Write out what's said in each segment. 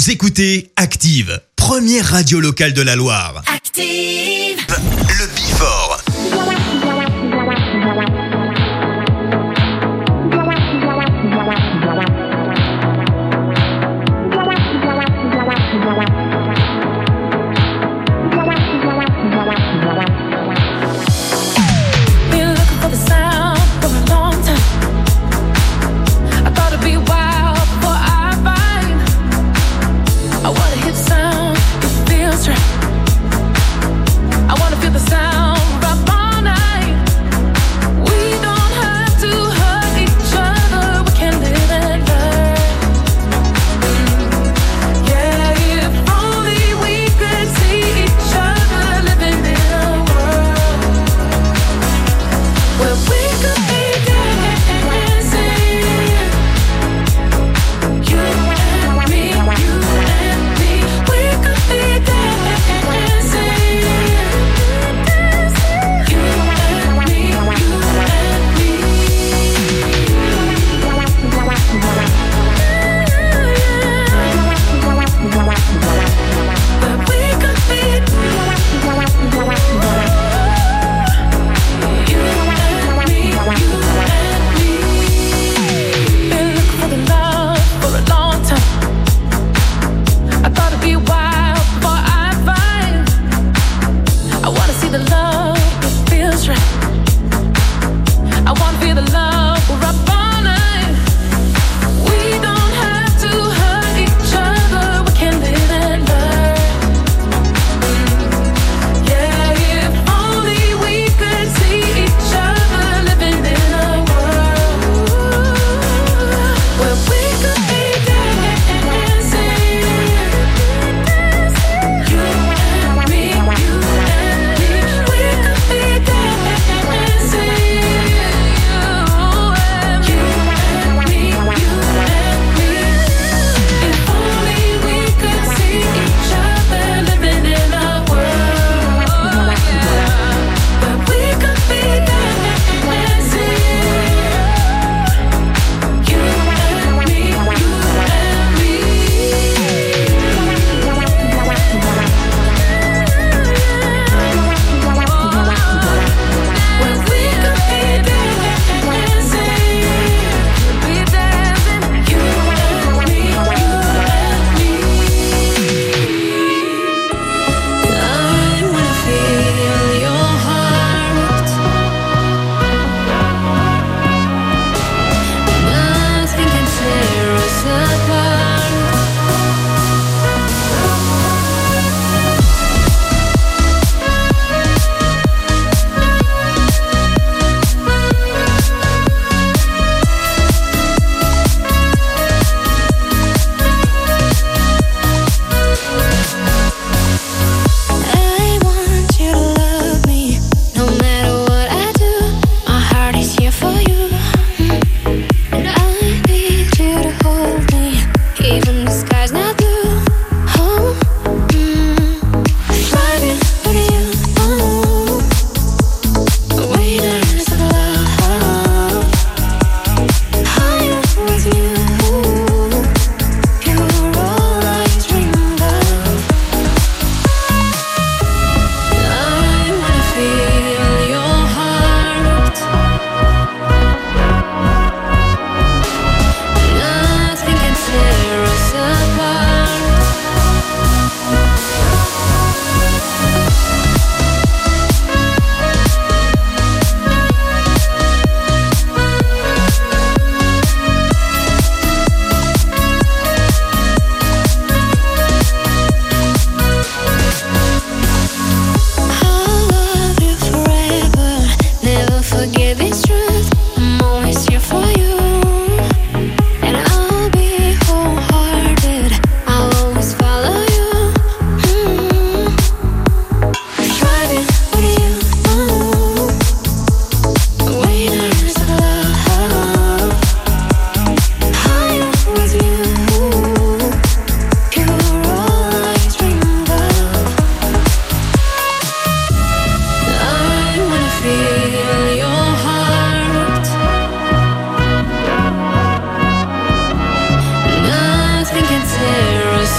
Vous écoutez Active, première radio locale de la Loire. Active, le Before. I wanna feel the sound right on now.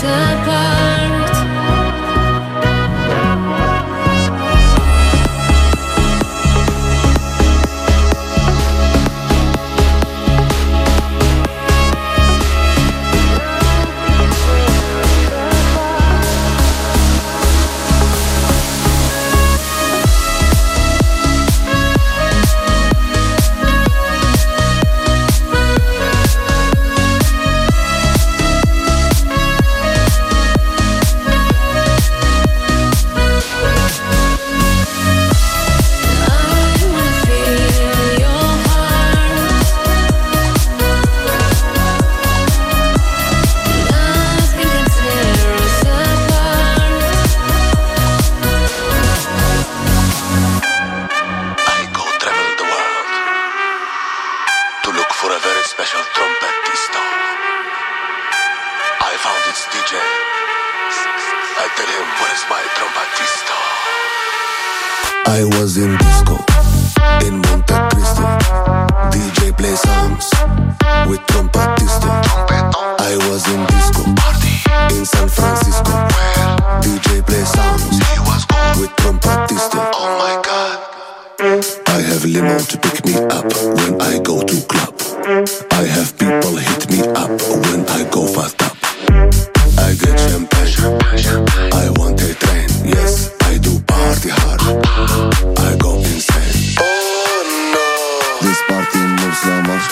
I was in disco in Monte Cristo. DJ play songs with trompetista. I was in disco in San Francisco. DJ play songs with trompetista. Oh my God. I have limo to pick me up when I go to club. I have people hit me up when I go fast up. I get champagne. I want a train. Yes, I do party hard. I go insane. Oh no. This party moves so much.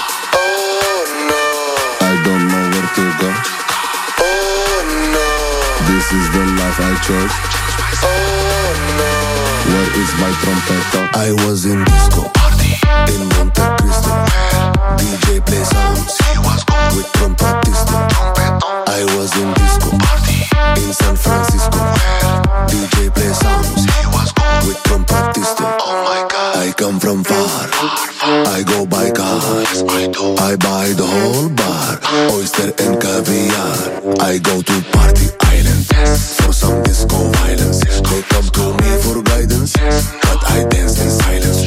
Oh no. I don't know where to go. Oh no. This is the life I chose. Oh no. Where is my trompeta? I was in disco in Monte Cristo. DJ play songs with trompetista. I was in disco in San Francisco. DJ play songs with trompetista. Oh my God. I come from far. I go by car. I buy the whole bar, oyster and caviar. I go to party island for some disco violence. They come to me for guidance, but I dance in silence.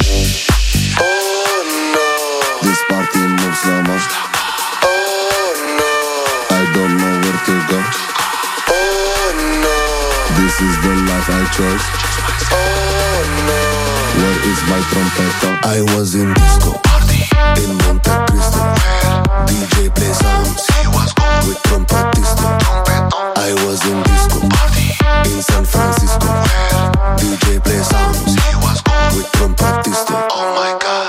Oh no. This party moves so much. Oh no. I don't know where to go. Oh no. This is the life I chose. Oh no. Where is my trompeta? I was in disco in Monte Cristo. DJ play songs with trompetista. I was in disco in San Francisco. DJ play songs with trompetista. Oh my God.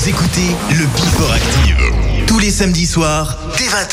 écoutez le Before Active. Tous les samedis soirs, dès 20h.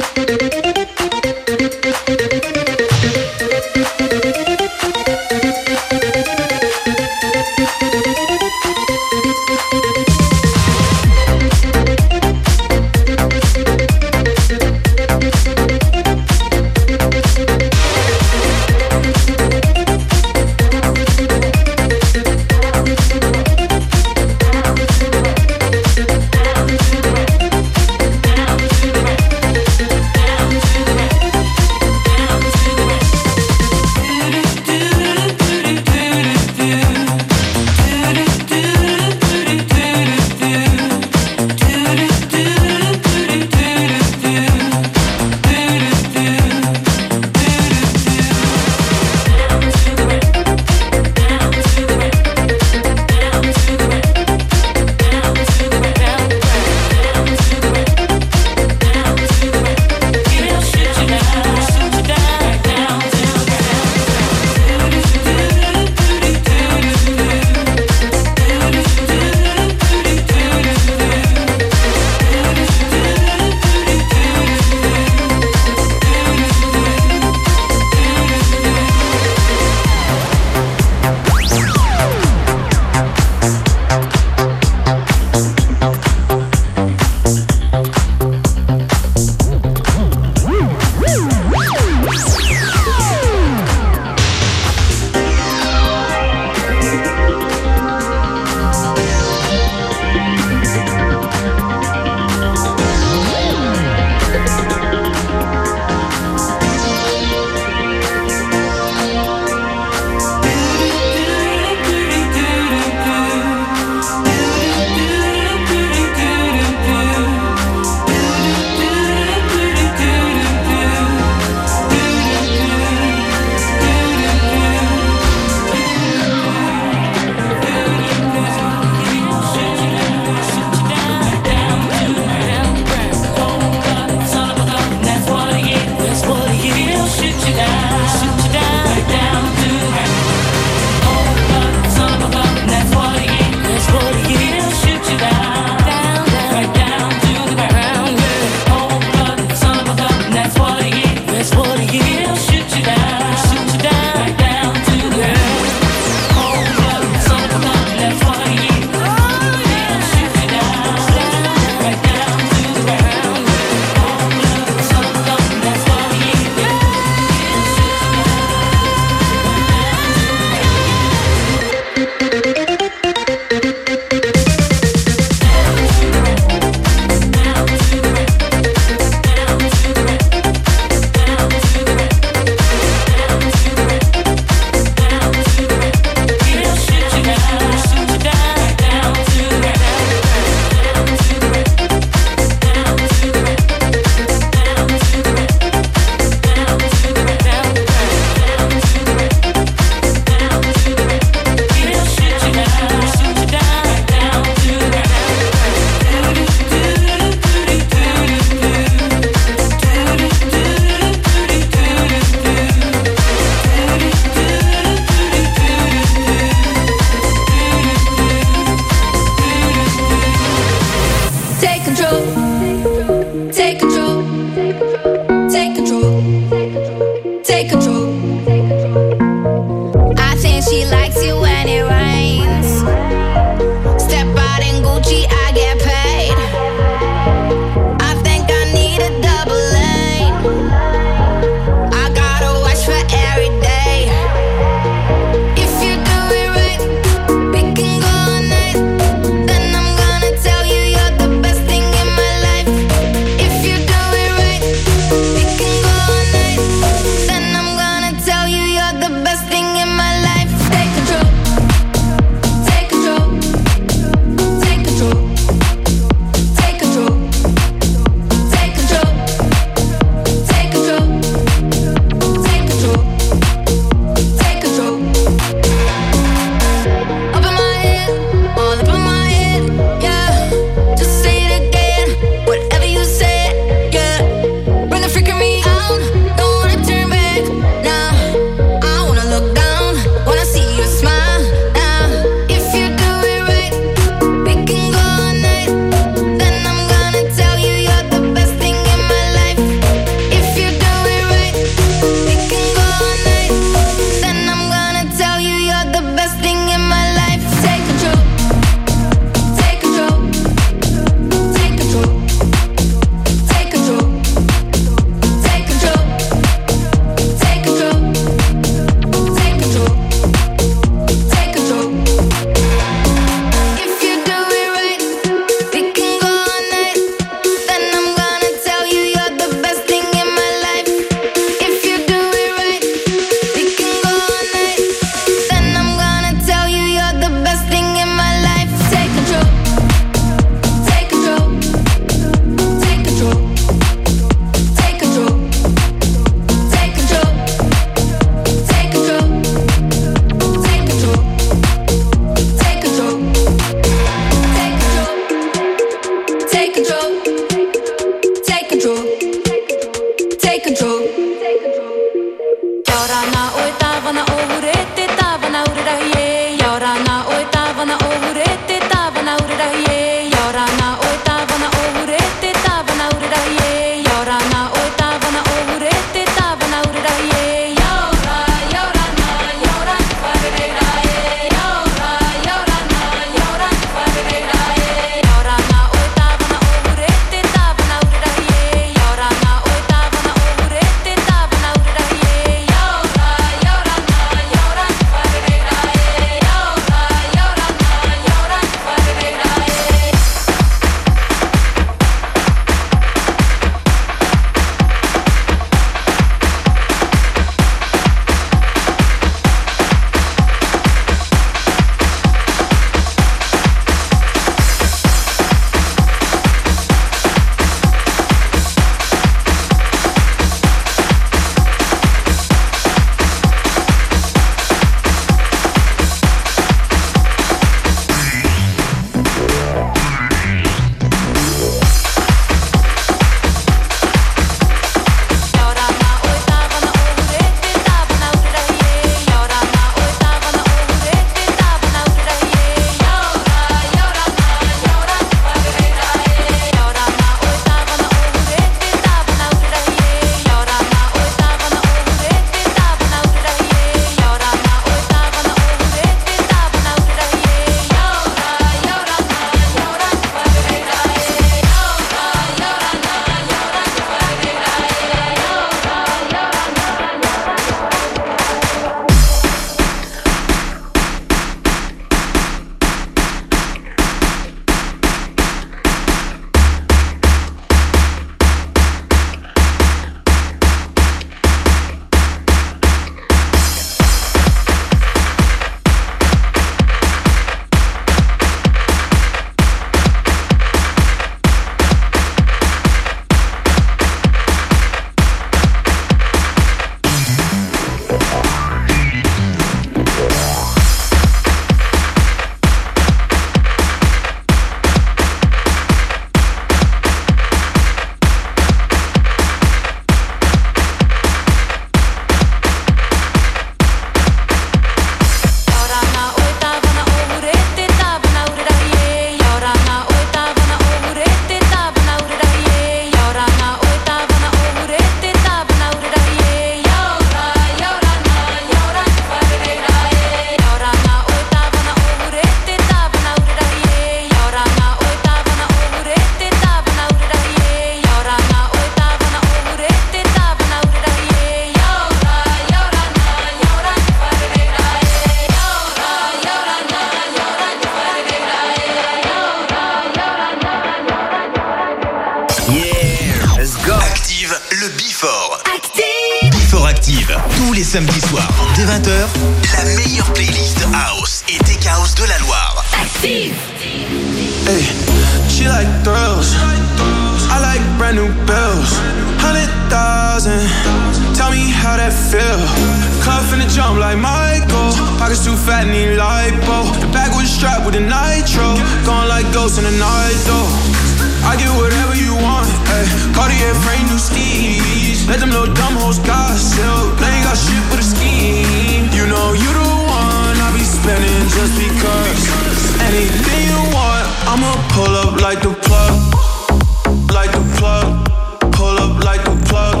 samedis soirs, dès 20h, la meilleure playlist house et tech house de la Loire. Active. Hey, she like thrills. I like brand new bills. 100,000. Tell me how that feel. Club finna jump like Michael. Pockets too fat, need lipo. The bag was strapped with a nitro. Going like ghosts in the night though. I get whatever you want. Ay. Cartier frame, new skis. Let them little dumb hoes gossip. They ain't got shit but a scheme. You know you the one I be spending just because. Anything you want, I'ma pull up like the plug. Like the plug. Pull up like the plug.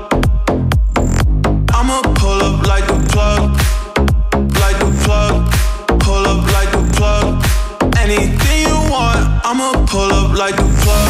I'ma pull up like the plug. Like the plug. Pull up like the plug. Anything you want, I'ma pull up like the plug.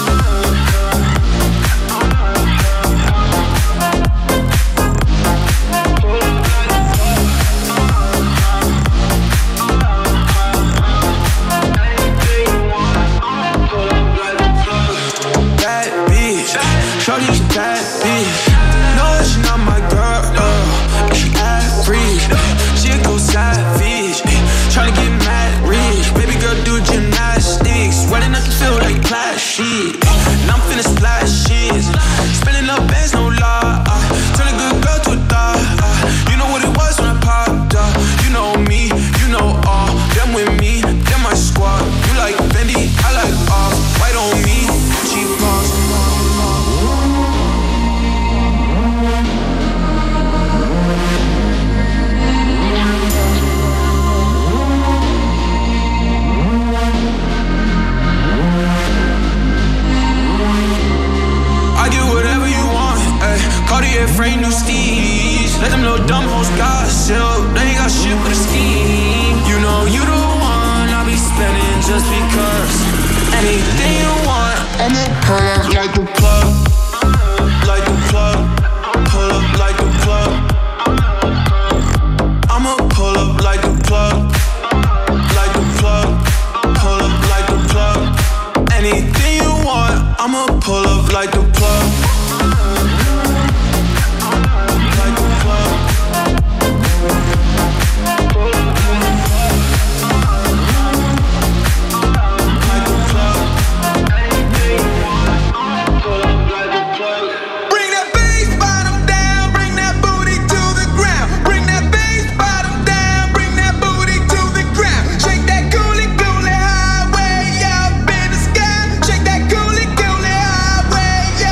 Shorty's that bitch. No, she not my girl. She average. She go savage. Tryna get mad rich. Baby girl do gymnastics. Running up the field like class shit. And I'm finna splash shit. Spinning up bands, no lie. Turn a good girl to a thot. You know what it was when I popped up. You know me, you know all. Them with me, them my squad. You like Fendi, I like off. White on me, cheap balls. Cartier frame, new steez. Let them little dumb hoes gossip. They ain't got shit but a scheme. You know you the one I be spending just because. Anything you want, I'ma pull up like the plug. Like the plug. Pull up like the plug. I'ma pull up like the plug. Like the plug. Pull up like the plug. Anything you want, I'ma pull up like the plug. Shake that coolie, coolie highway, yeah.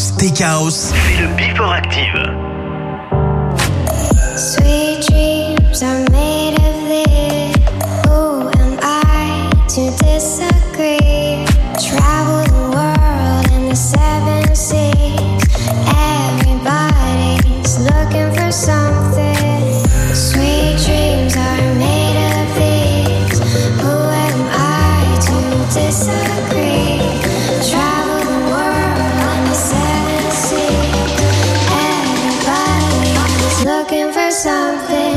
House, Tech House, c'est le Before Active. Sweet dreams are made of this. Who am I to disagree? Travel the world in the 7 seas. Everybody's looking for something. Sweet dreams are made of these. Who am I to disagree? Travel the world in the 7 seas. Everybody's looking for something.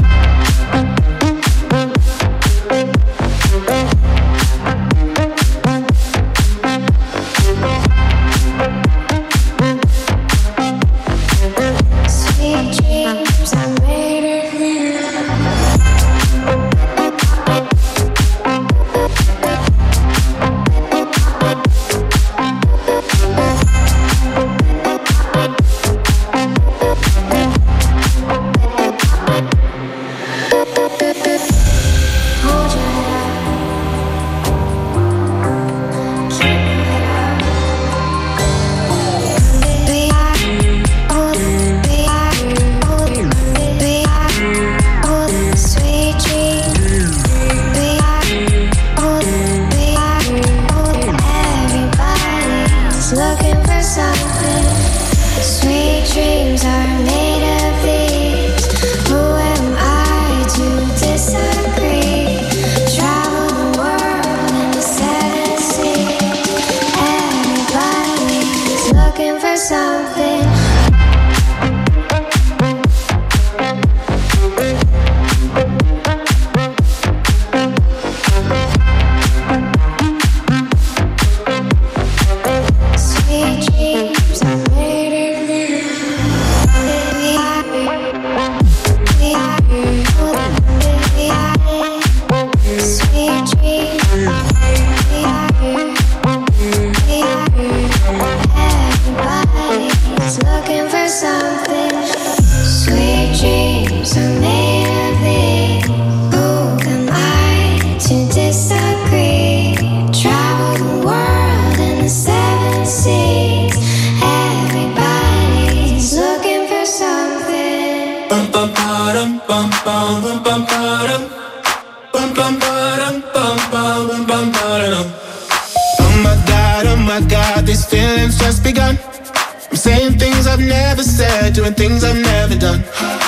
Doing things I've never done.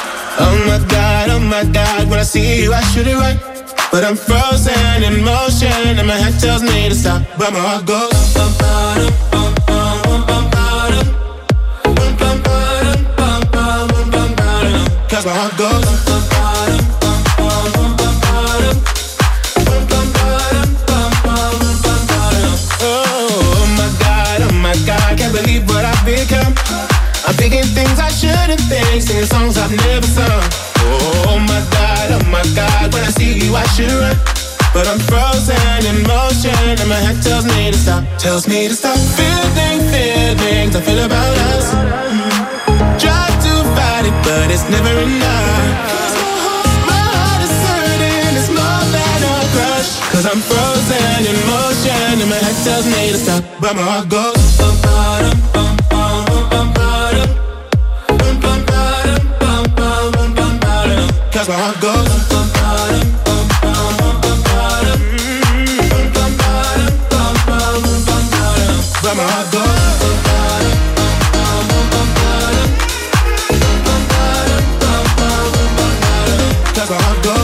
Oh my God, when I see you I should it right. But I'm frozen in motion and my head tells me to stop. But my heart goes cause my heart goes oh my God, can't believe what I've become. I'm thinking things I shouldn't think, singing songs I've never sung. Oh my God, when I see you I should run. But I'm frozen in motion and my head tells me to stop. Tells me to stop feeling feelings I feel about us. Try to fight it but it's never enough. My heart is hurting, it's more than a crush. Cause I'm frozen in motion and my head tells me to stop. But my heart goes cause my heart goes but my heart goes cause my heart goes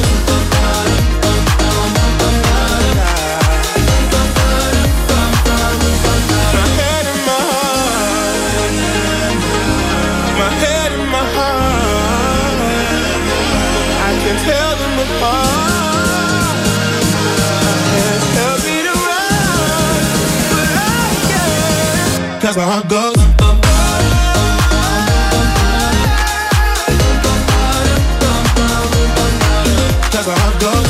my head and my heart I can tell them apart. Tell me to run, but I can't. Cause my heart goes cause my heart goes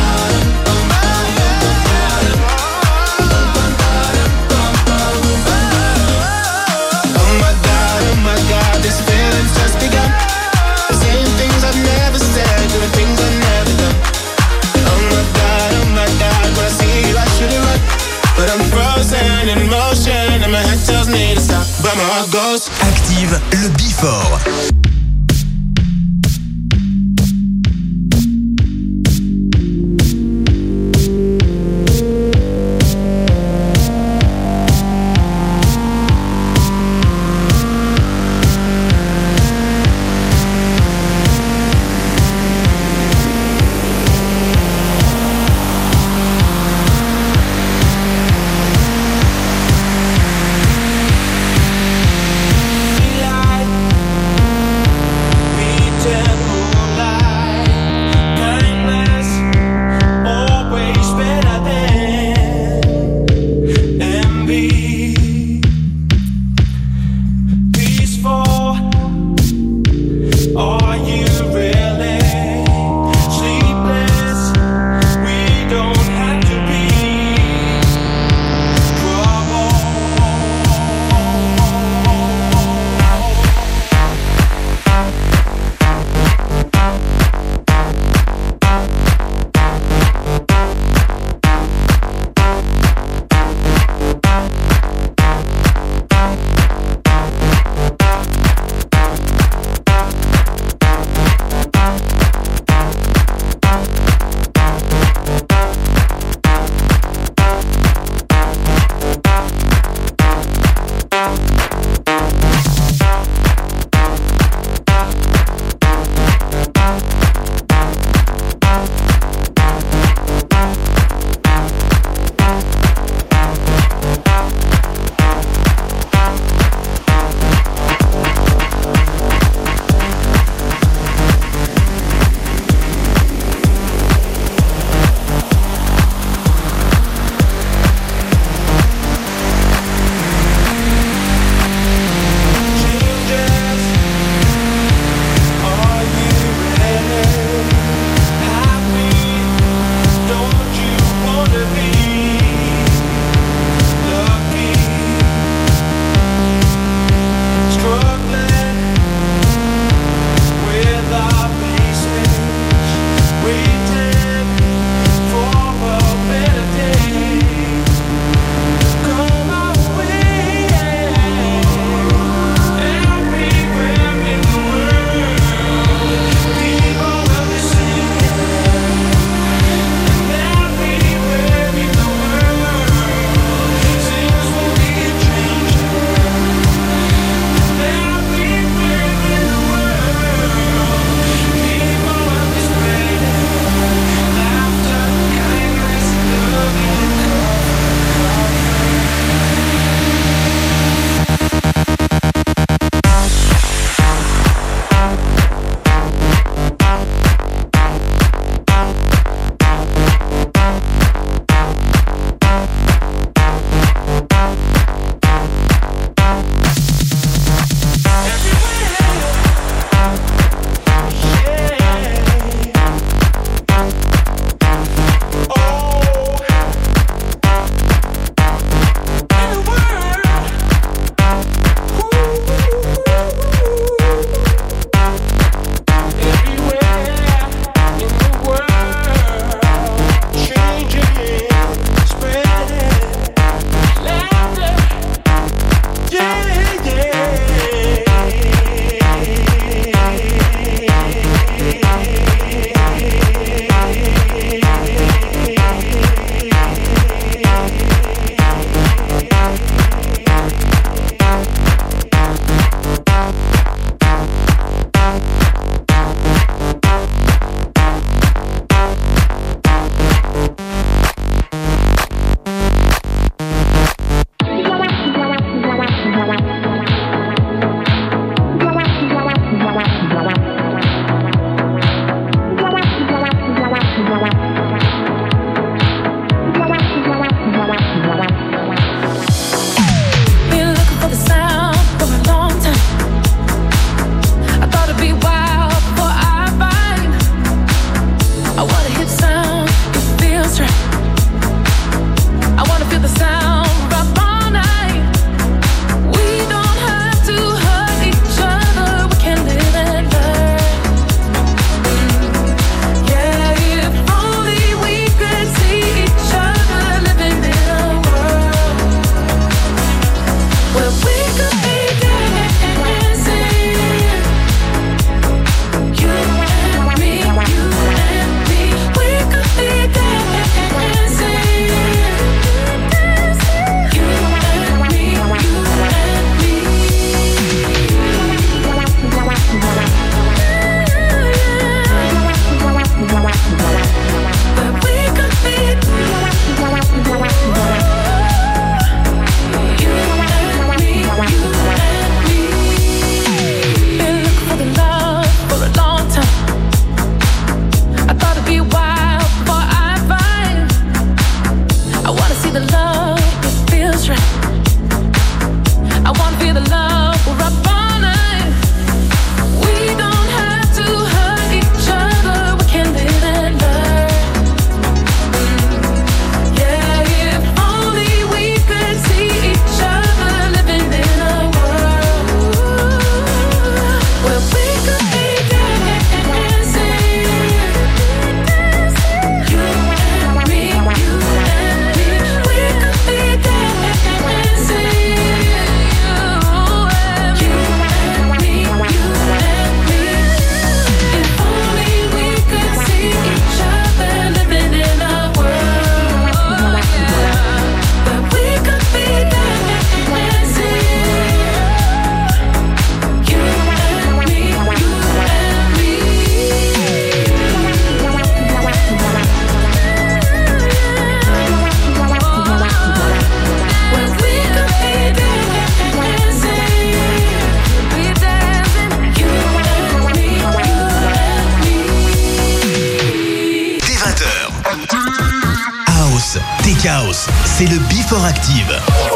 oh my God, this feeling's just begun. Saying things I've never said, doing things I've never done. Oh my God, when I see you I should it right. But I'm frozen in motion and my head tells me to stop. where my heart goes. Active le Before. House, c'est le Before Active.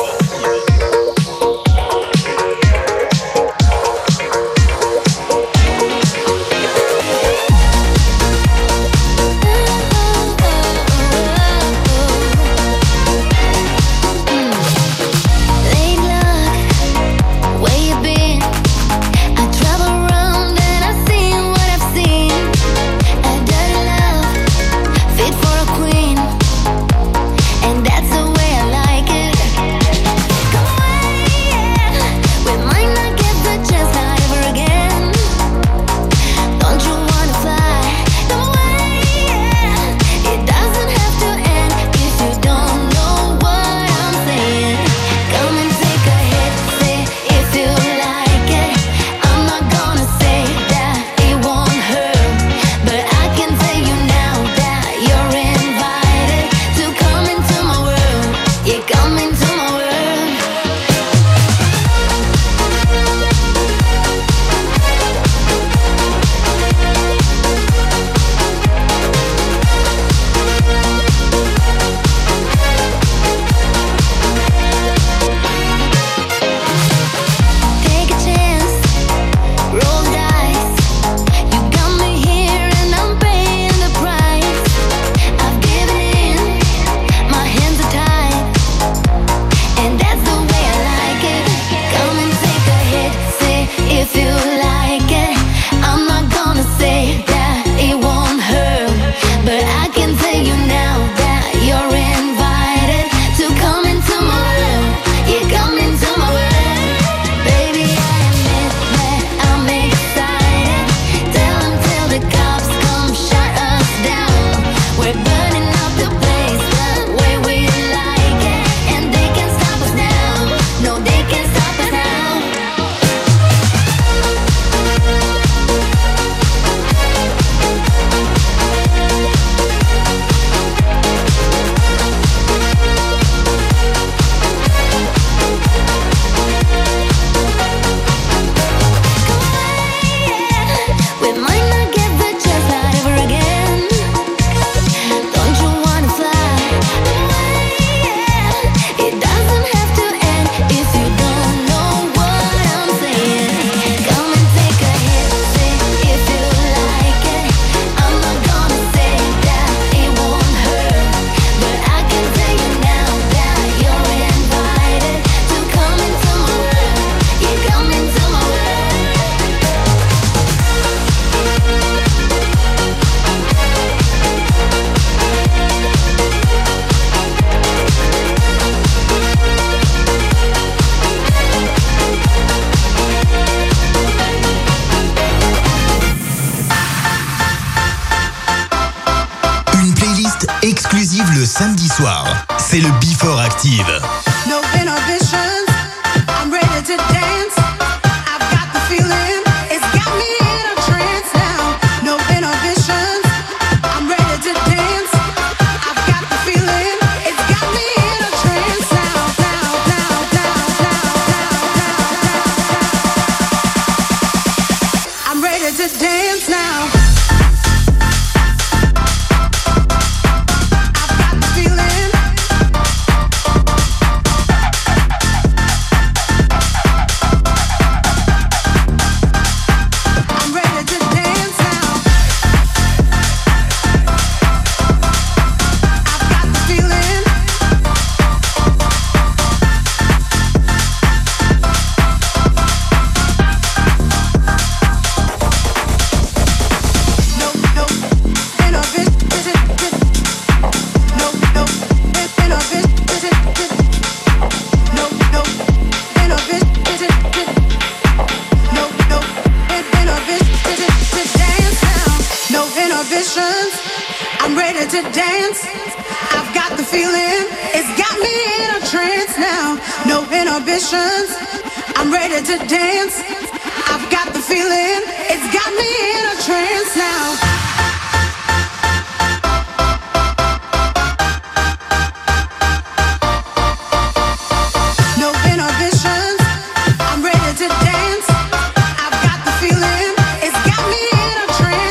le samedi soir. C'est le Before Active. No inhibitions, I'm ready to dance. I've got the feeling, it's got me in a trance now. No inhibitions, I'm ready to dance. I've got the feeling, it's got me in a trance now. I'm ready to dance now. I'm ready to dance. I've got the feeling, it's got me in a trance now. No inhibitions, I'm ready to dance. I've got the feeling, it's got me in a trance now.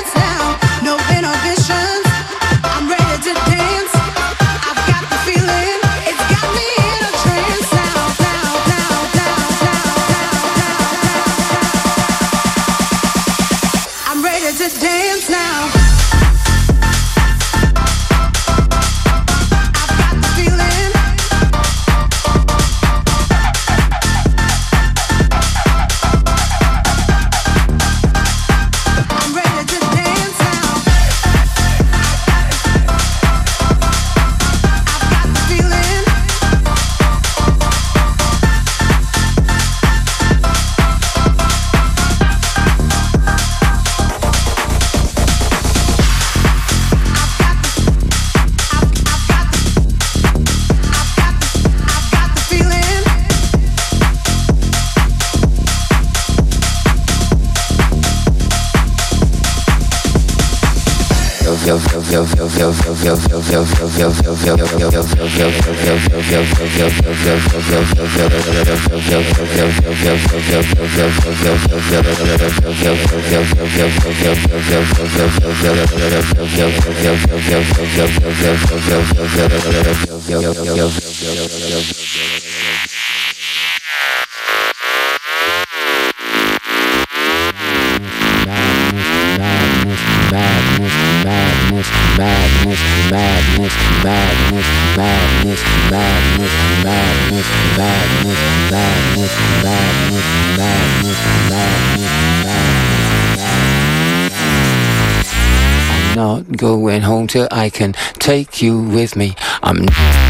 Feeling Not going home till I can take you with me. I'm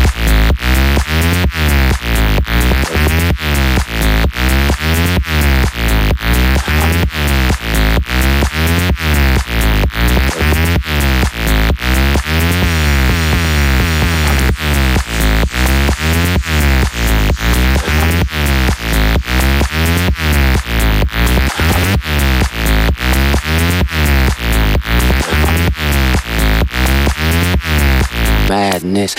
madness.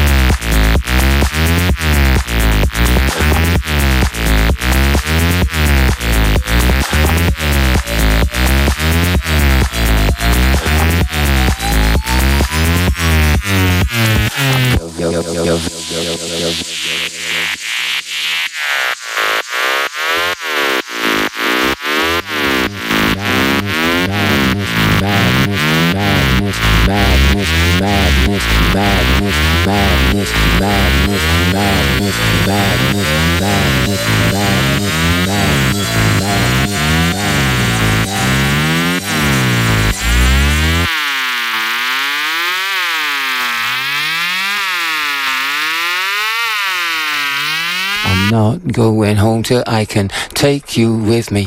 I'm not going home till I can take you with me.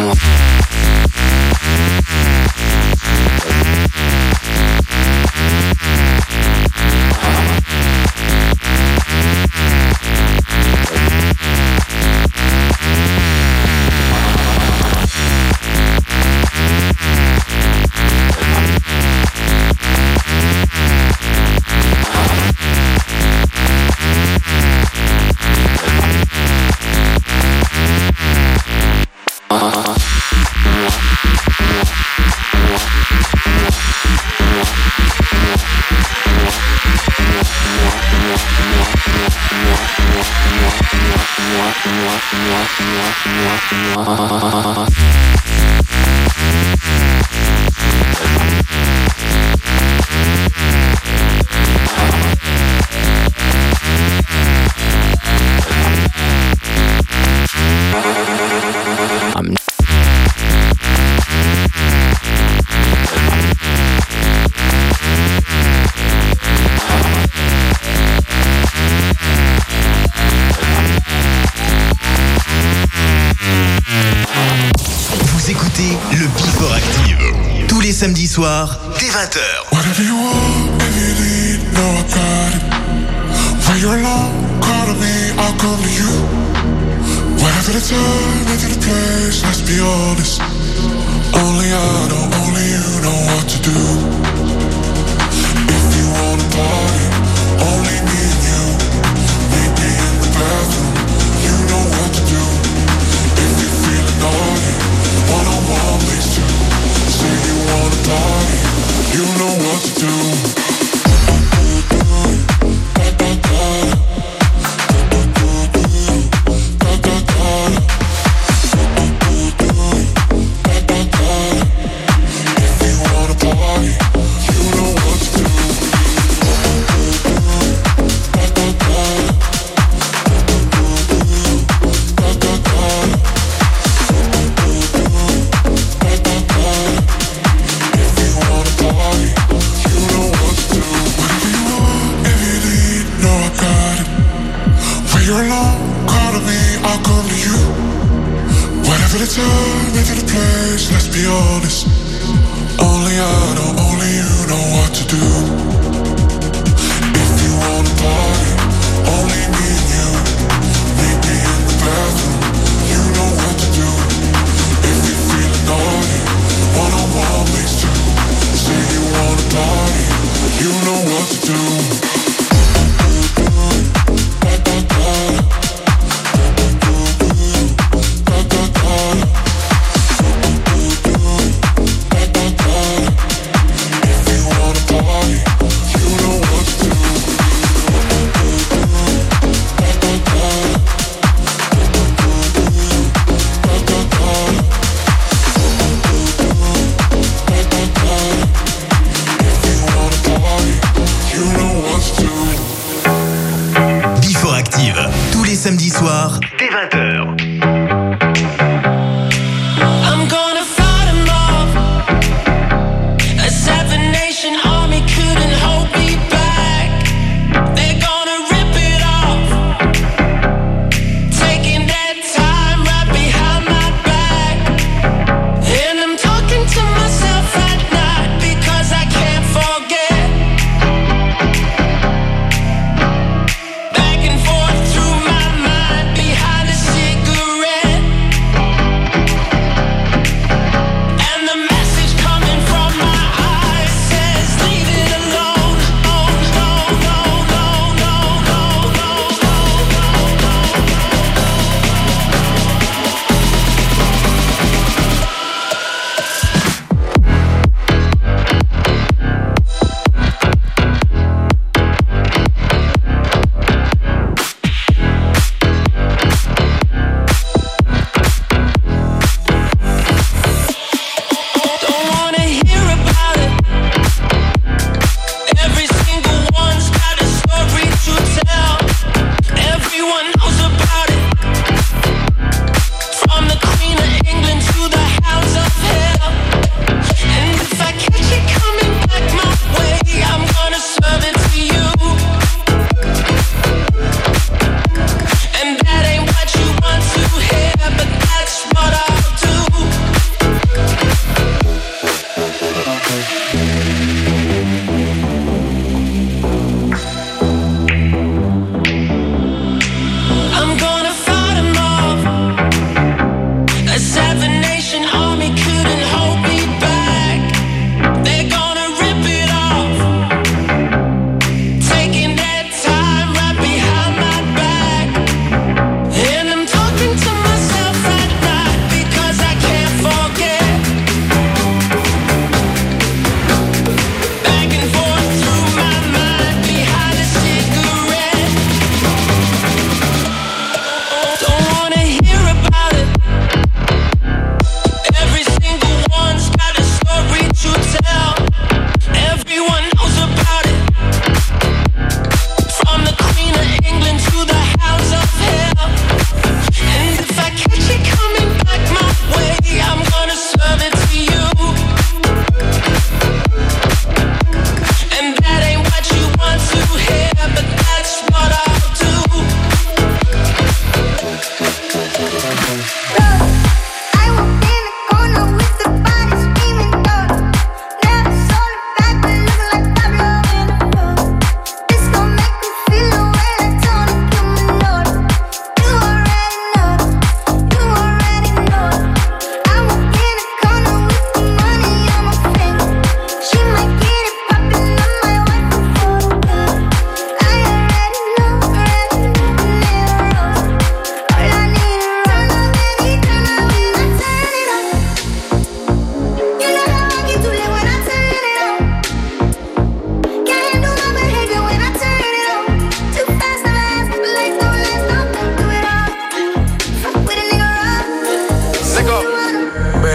Samedi soir, dès 20h. Whatever you want, if you need, know I got it. When you're alone, call to me, I'll come to you. Whatever the time, whatever the place, let's be honest. Only I know, only you know what to do. If you wanna party, only me and you. Meet me in the bathroom, you know what to do. If you're feeling naughty, one-on-one, please do. Say you wanna party, you know what to do. Say you wanna party,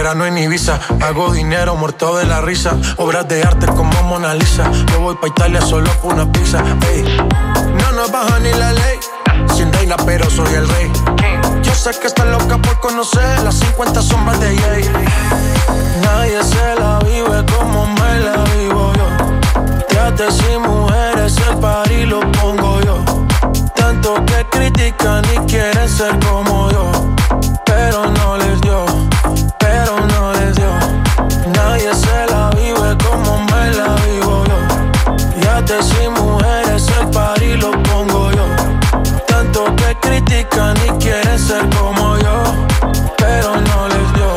verano en Ibiza. Hago dinero muerto de la risa. Obras de arte como Mona Lisa. Yo voy pa' Italia solo por una pizza. Ey. No nos baja ni la ley. Sin reina pero soy el rey. Yo sé que estás loca por conocer las 50 sombras de Jay. Nadie se la vive como me la vivo yo. Teates y mujeres, el party lo pongo yo. Tanto que critican y quieren ser como yo. Pero no les dio, pero no les dio. Nadie se la vive como me la vivo yo. Yates y mujeres, el party lo pongo yo. Tanto que critican y quieren ser como yo. Pero no les dio.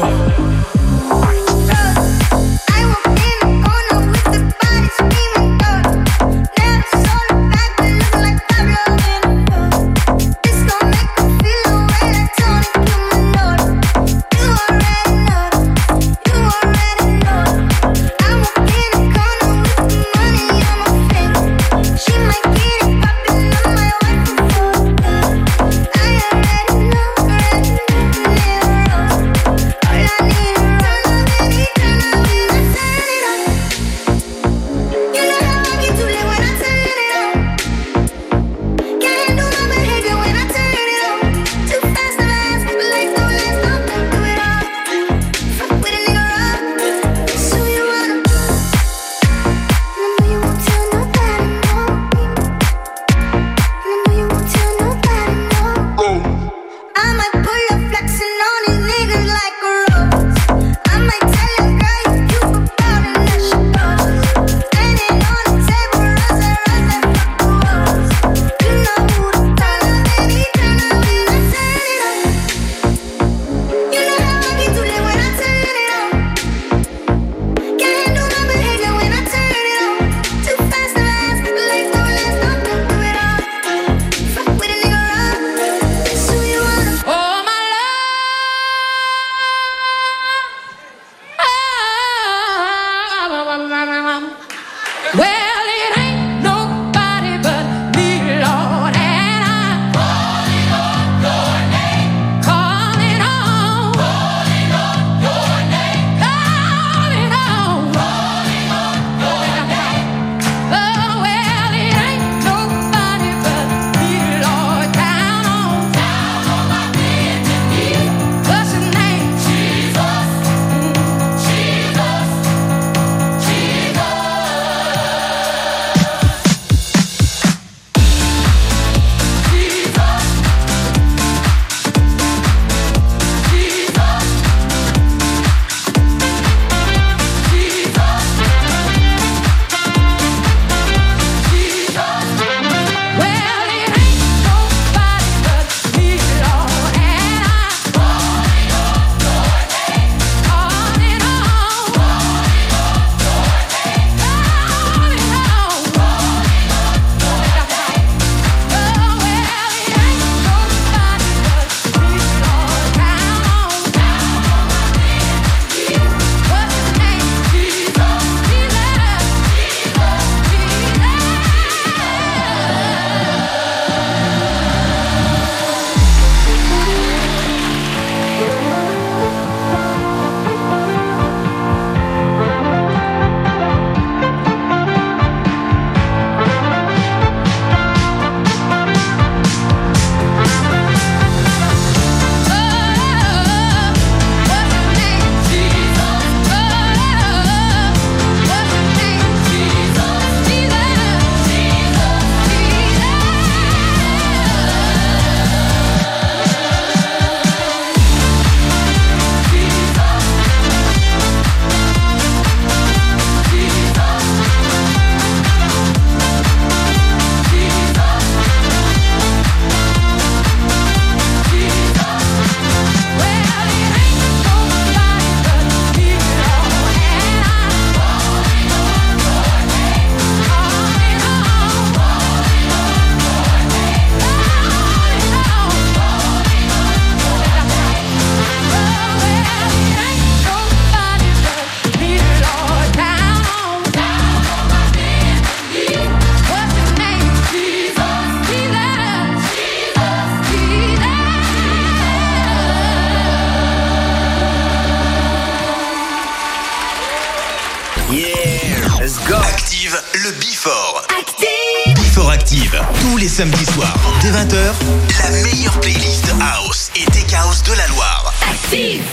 les samedis soirs, dès 20h, la meilleure playlist House et Tech House de la Loire. Active!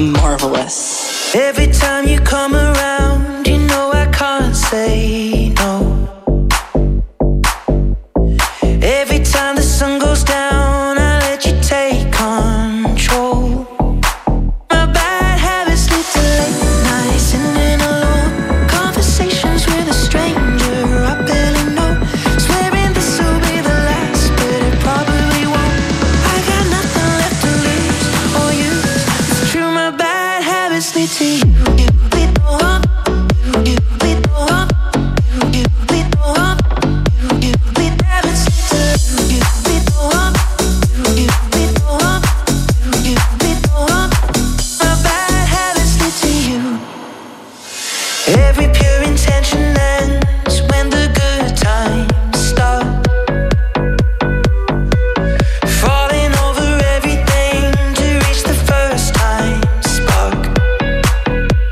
marvelous. Every time you come around, you know I can't say no. Every time the sun goes down, I let you take control. My bad habits lead to late nights, sitting alone, conversations with a stranger I barely know. Swearing this will be the last, but it probably won't. I got nothing left to lose or use. It's true, my bad habits lead to you. Every pure intention ends when the good times start. Falling over everything to reach the first time spark.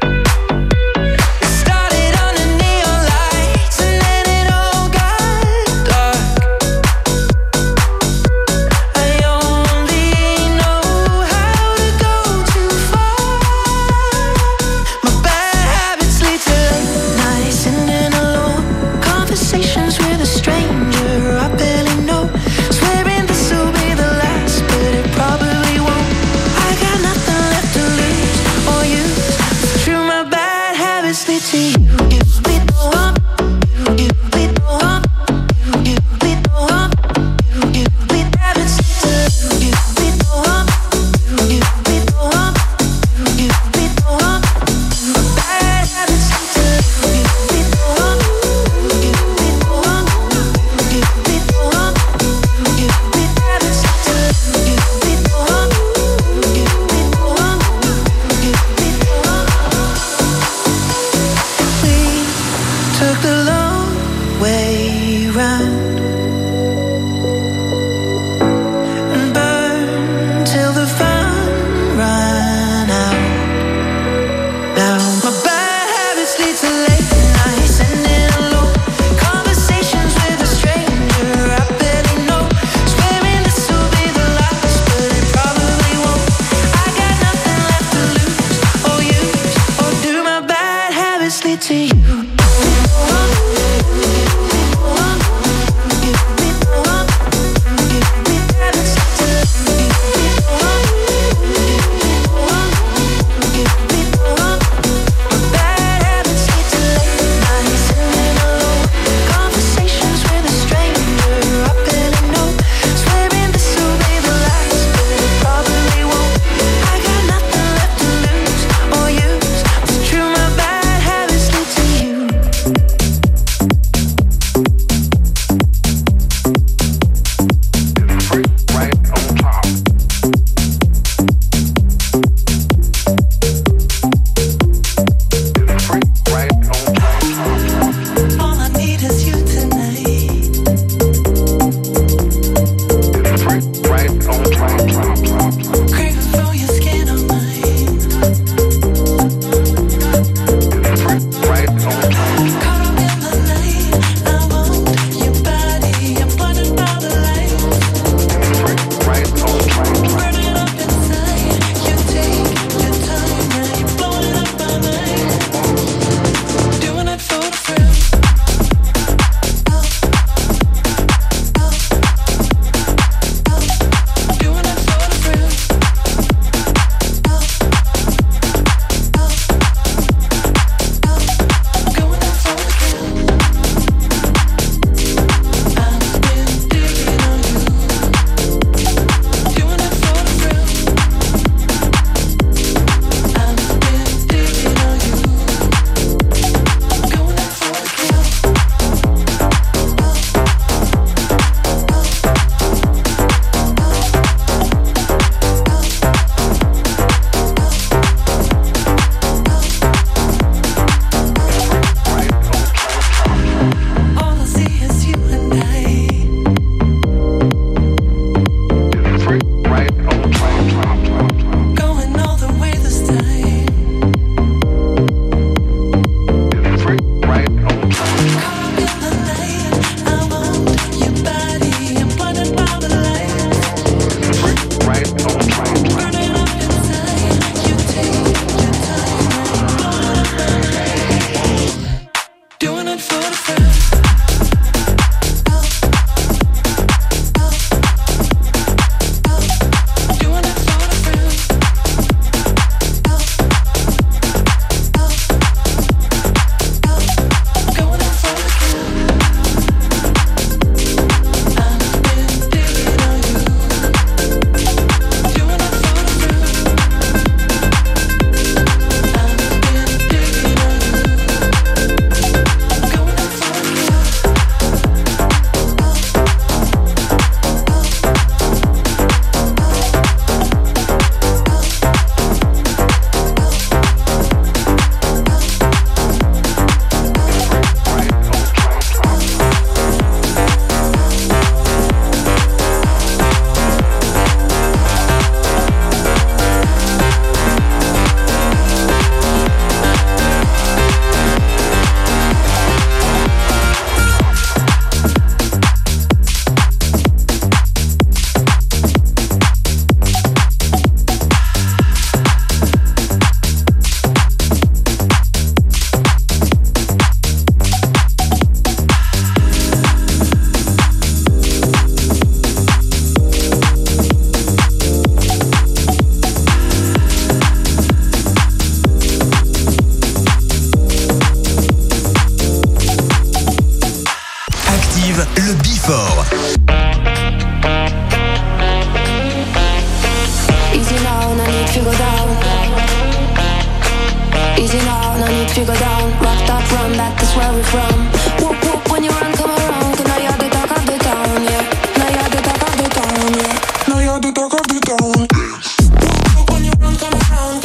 Easy now, no need to go down. Rock that, run that, that's where we're from. Whoop whoop, when you run, come around. 'Cause now you're the talk of the town, yeah. Now you're the talk of the town, yeah. Now you're the talk of the town. Whoop whoop, when you run, come around.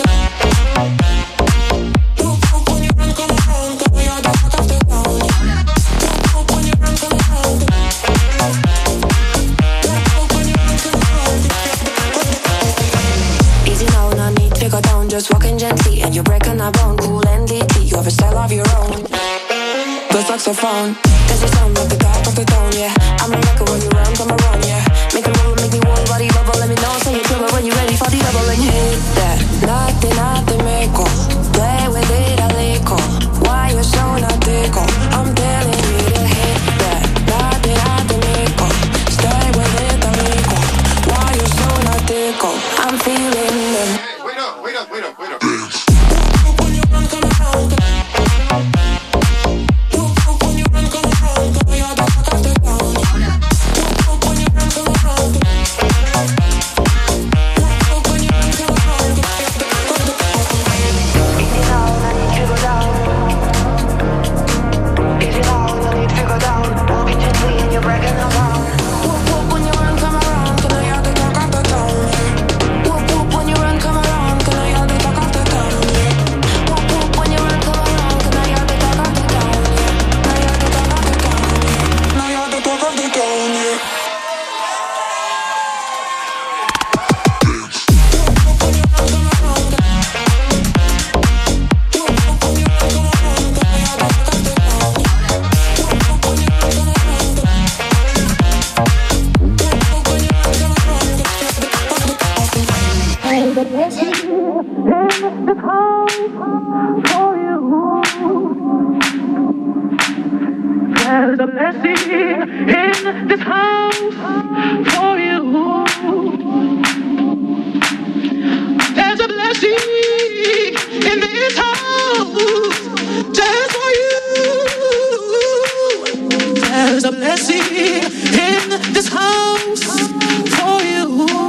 Whoop whoop, when you run, come around. 'Cause now you're the talk of the town, yeah. Whoop whoop, when you run, come around. Easy now, no need to go down. Just walking gently and you're breaking a bone. Cool and deeply, you have a style of your own. The saxophone, does it sound like the top of the tone, yeah. I'm a record when you run, come around, yeah. Make a move, make me whole body bubble. Let me know, say you're trouble when you're ready for the double. And hit that, nothing, make up. Play with it a little. Why you so not tickle? I'm telling you to hit that, nothing, make up. Stay with it a little. Why you so not tickle? I'm feeling them. Wait up. When you run, come around. When you run, come around. You're the talk of the town. When you run, come around. When you run, come around. Easy now, no need to go down. Easy now, no need to go down. Walking gently and you're breaking around. When you run, come around. 'Cause now you're the talk of the town. When you run, come around. 'Cause now you're the talk of the town. When you run, come around. 'Cause now you're the talk of the town. Now you're the talk of the town. Now you're the talk of the town, yeah. There's a blessing in this house for you. There's a blessing in this house just for you. There's a blessing in this house for you.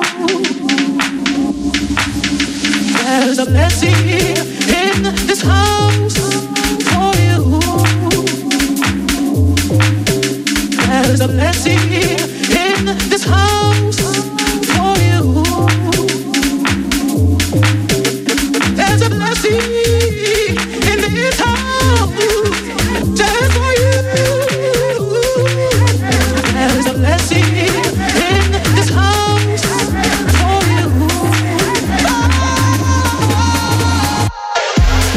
There's a blessing in this house for you. There's a blessing in this house for you. There's a blessing in this house just for you. There's a blessing in this house for you.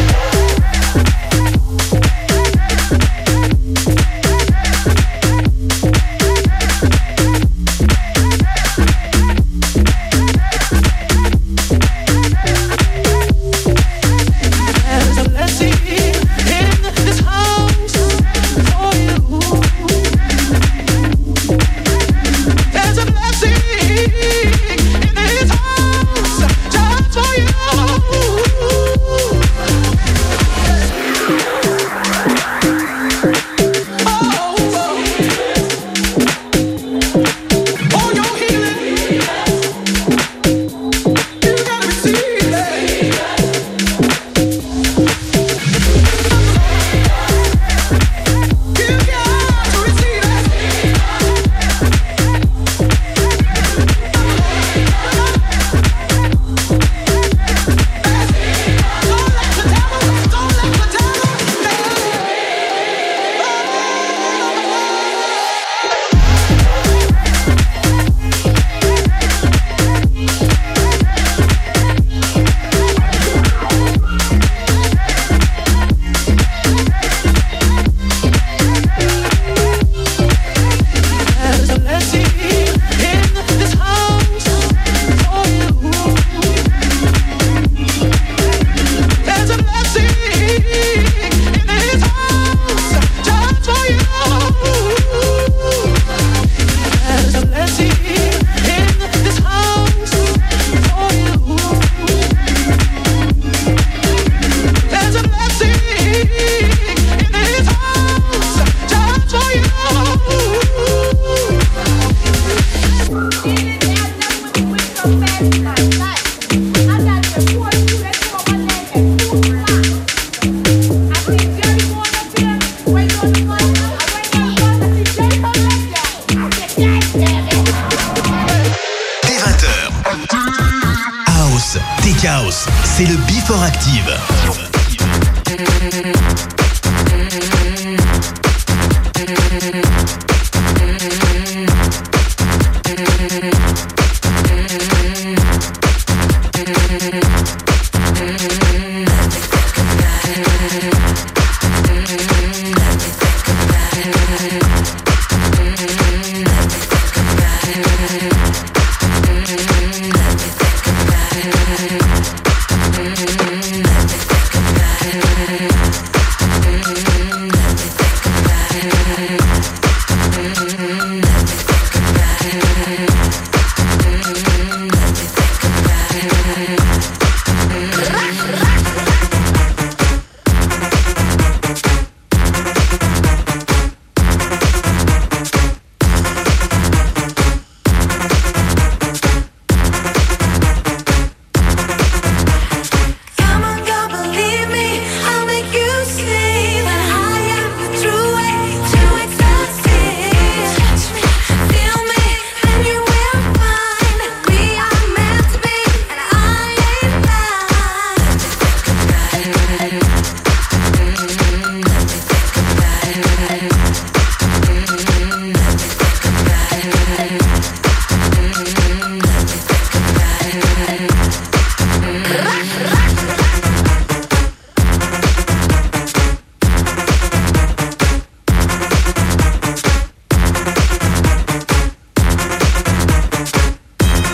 Color Active.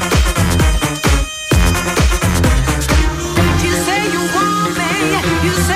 You say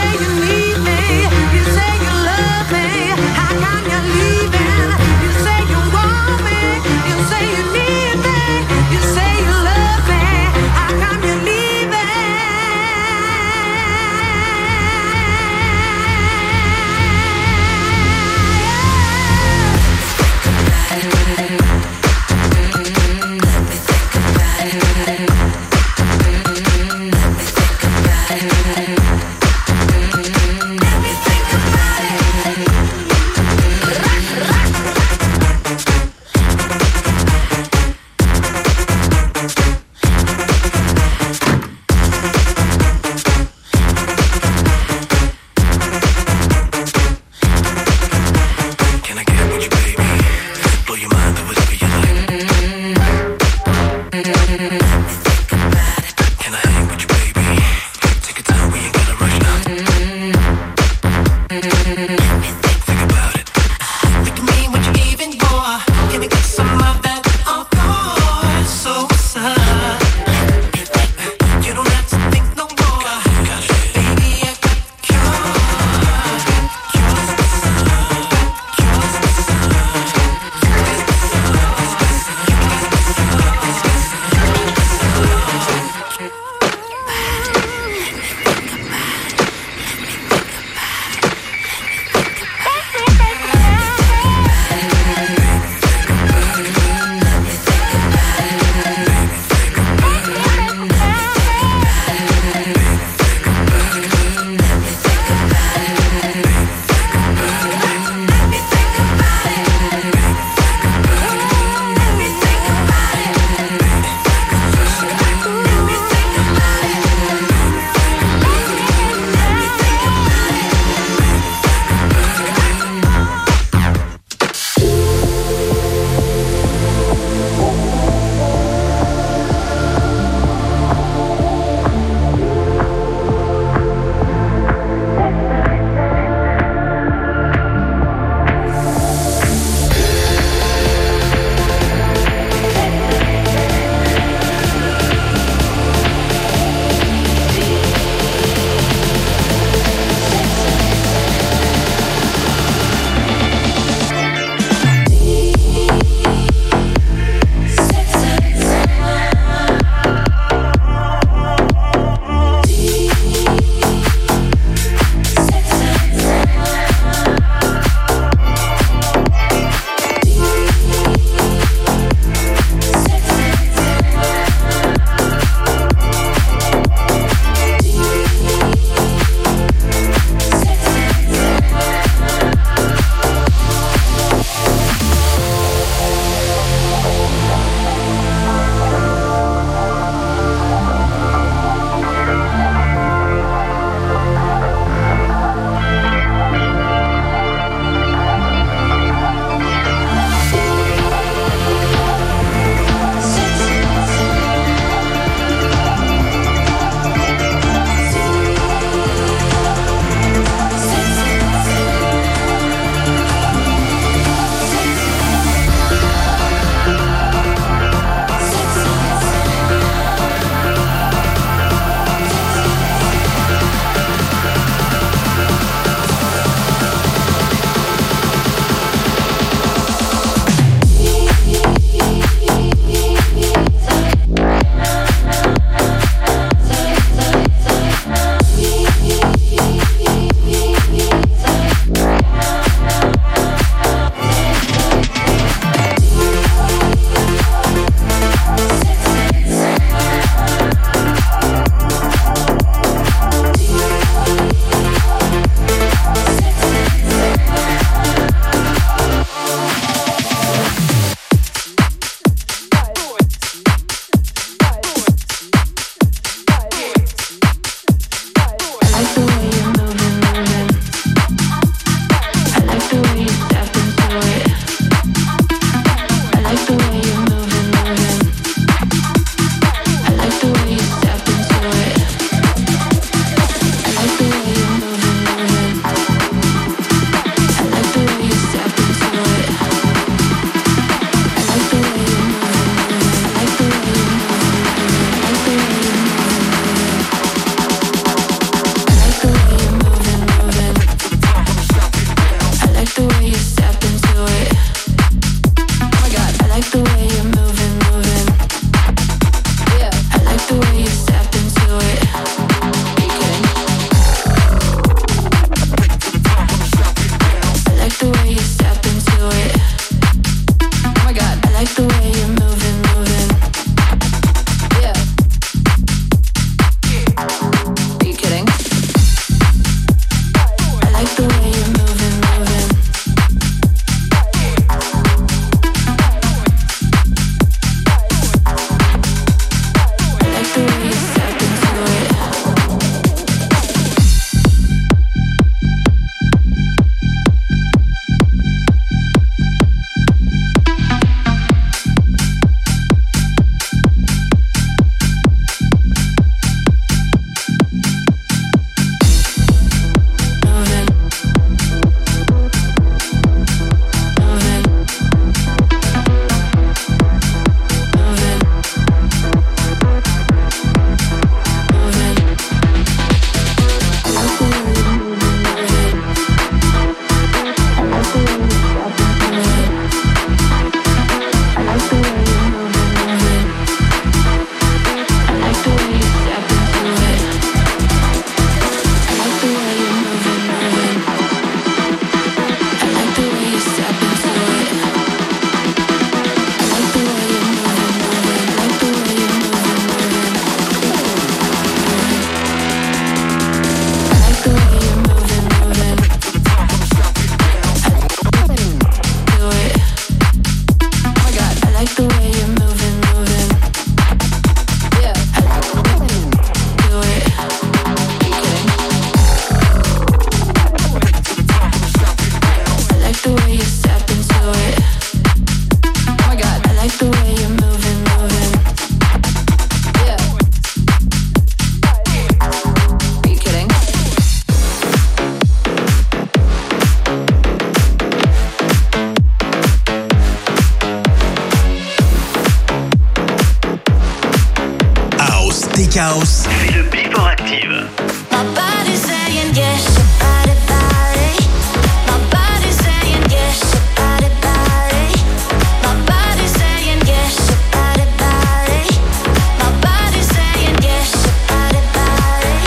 House. C'est le Before Active. My body's saying yes, your body, body. My body's saying yes, your body, body. My body's saying yes, your body, body. My body's saying yes, your body, body.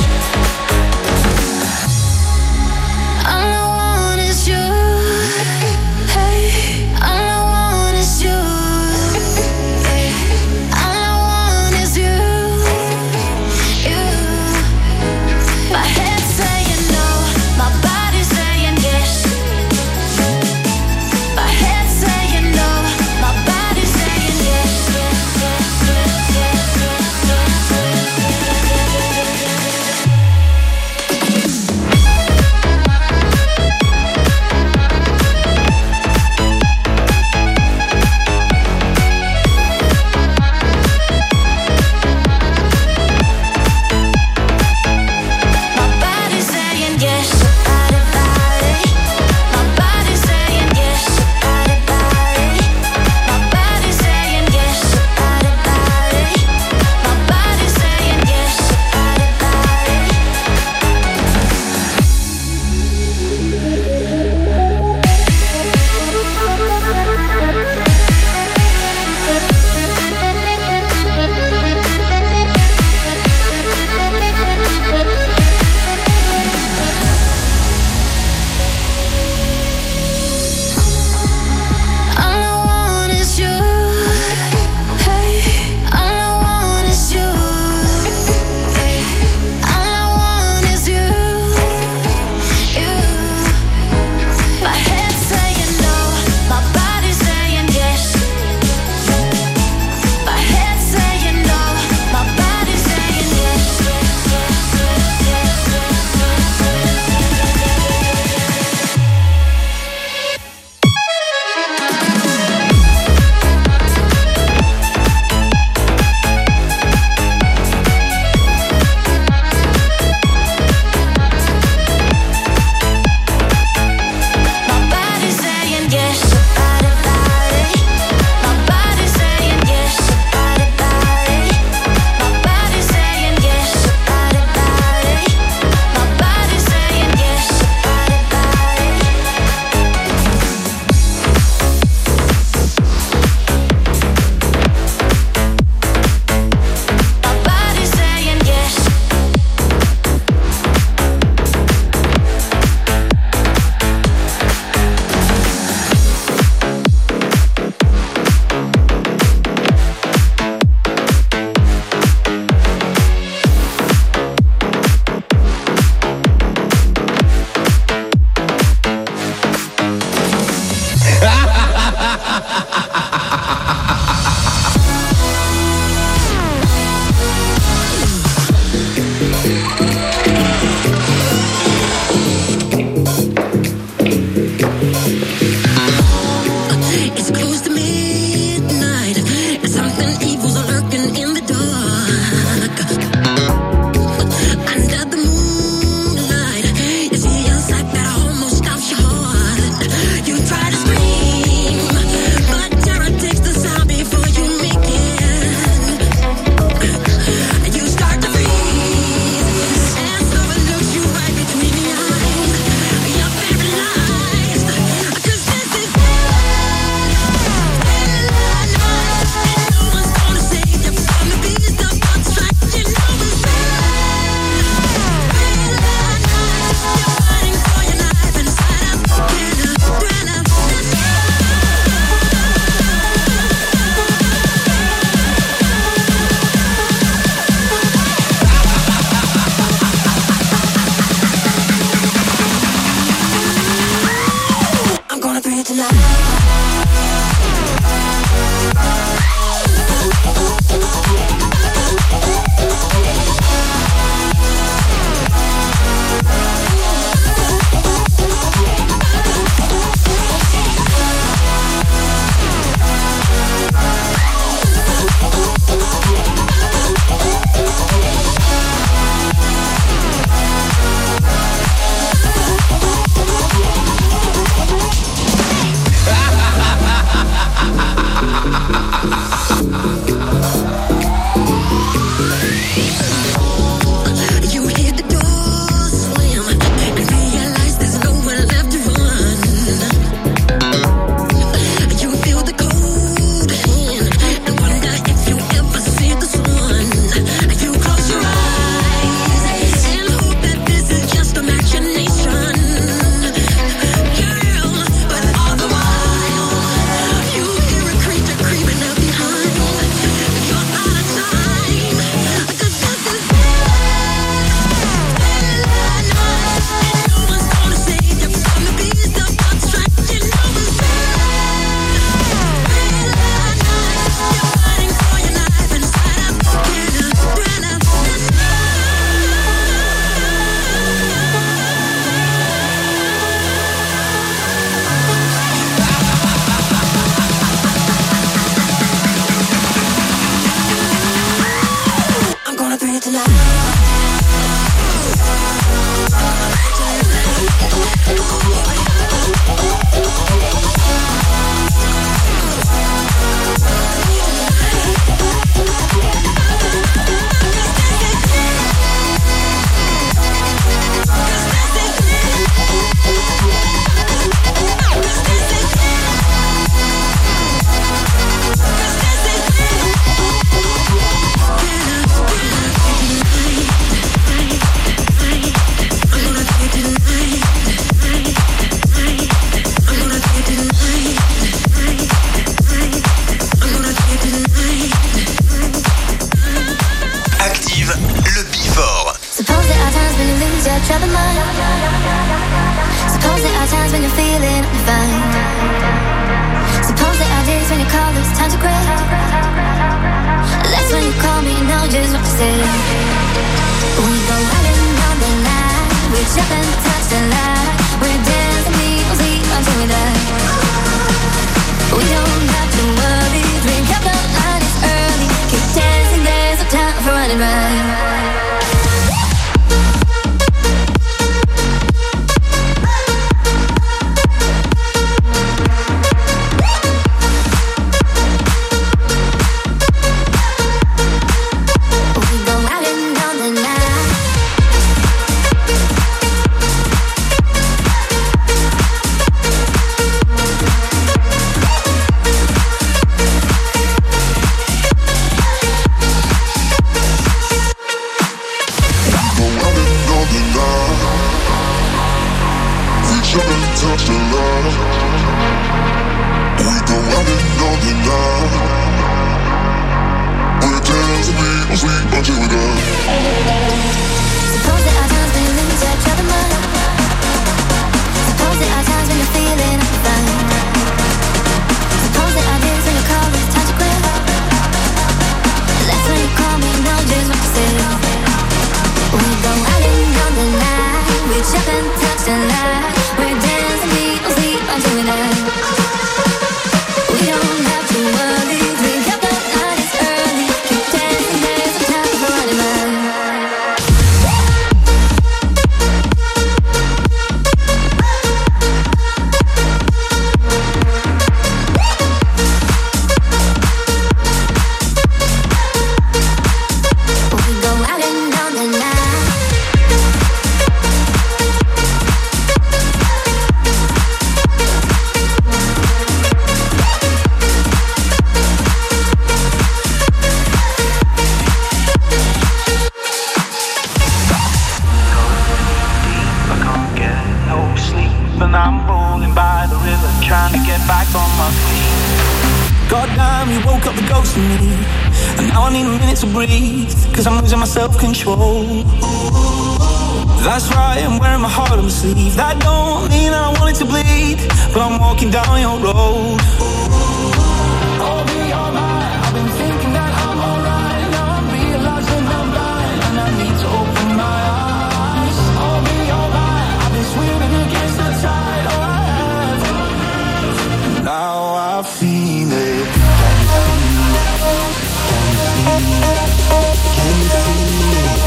All I want is you. Hey, all I want is you. All I want is you. You. troubled mind. Suppose there are times when you're feeling fine. Suppose there are days when you call it's time to cry. That's when you call me, know just what to say. We go out and down the night. We jump and touch the light. We're dancing, we'll sleep until we die. We don't have to worry. Drink up the night, it's early. Keep dancing, there's no time for running right. Self-control. That's right, I'm wearing my heart on my sleeve. That don't mean I want it to bleed, but I'm walking down your road. I'll be alright. I've been thinking that I'm alright. Now I'm realizing I'm blind and I need to open my eyes. I'll be alright. I've been swimming against the tide. Oh, I have. Now I feel it. Can you feel it?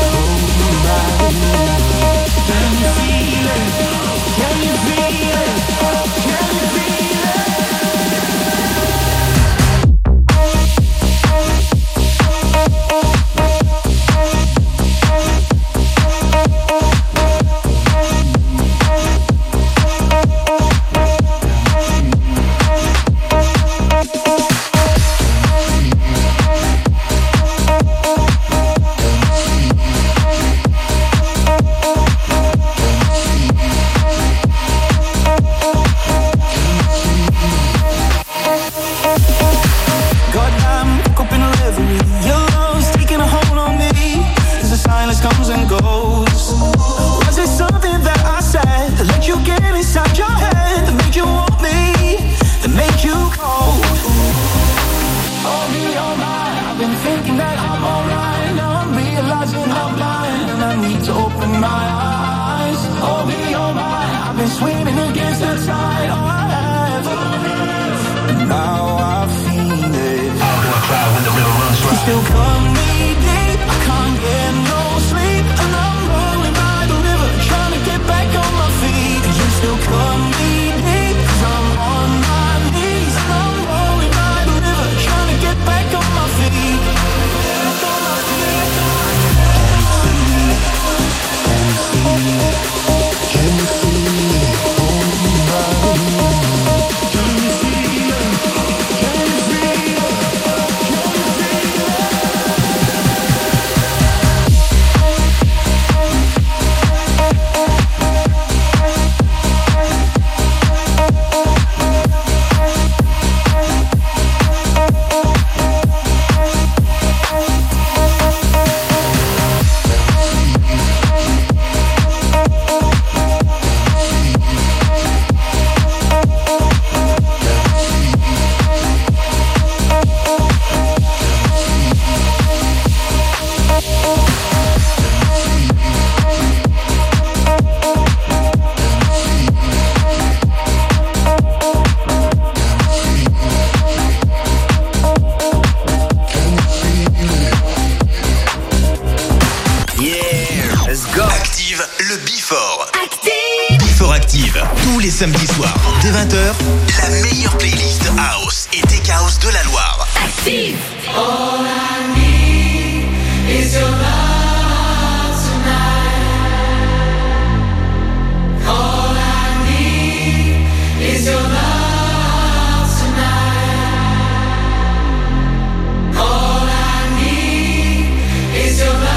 Can you feel it? Can you feel it? Can you feel it? Active. Tous les samedis soirs, dès 20h, la meilleure playlist House et Tech House de la Loire. Active. All I need is your love tonight. All I need is your love tonight. All I need is your love.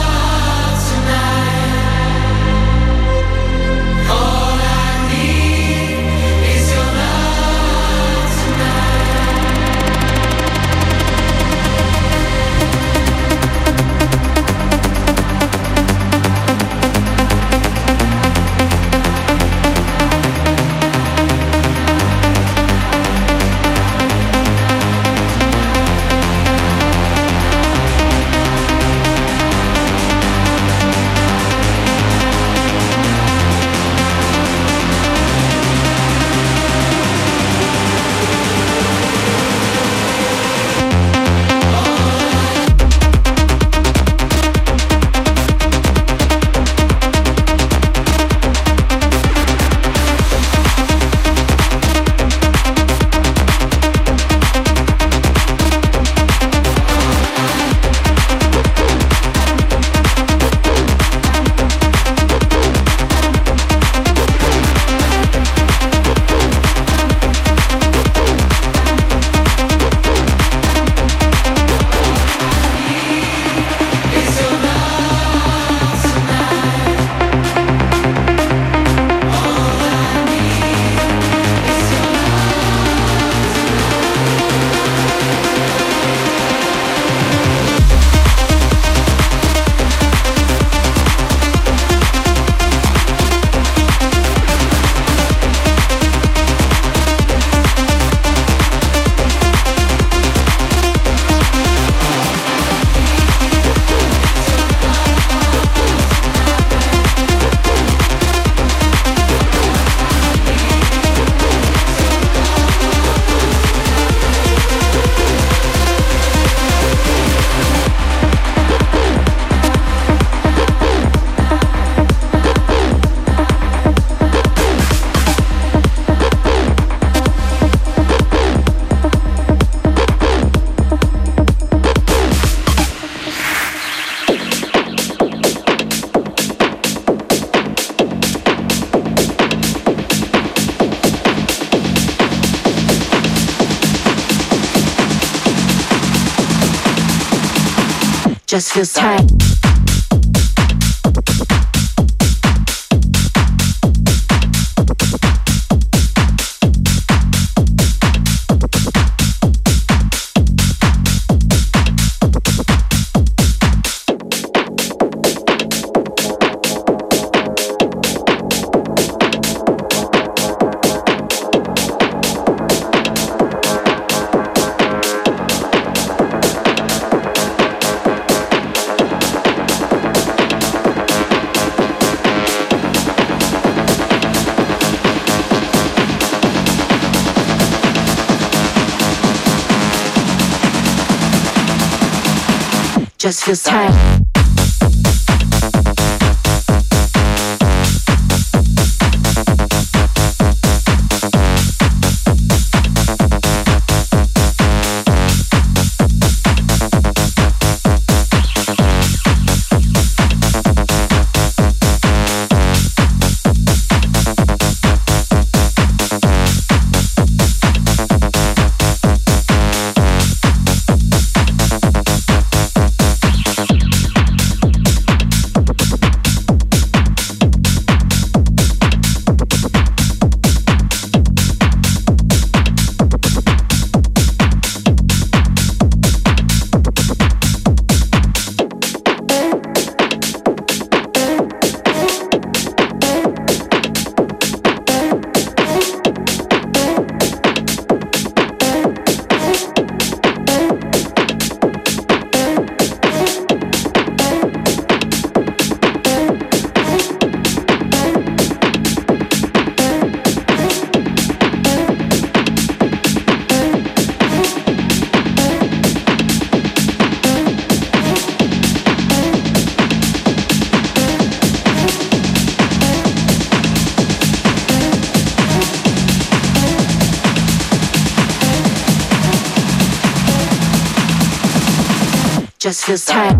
Just feels tight. Just feels tight. just feels tight.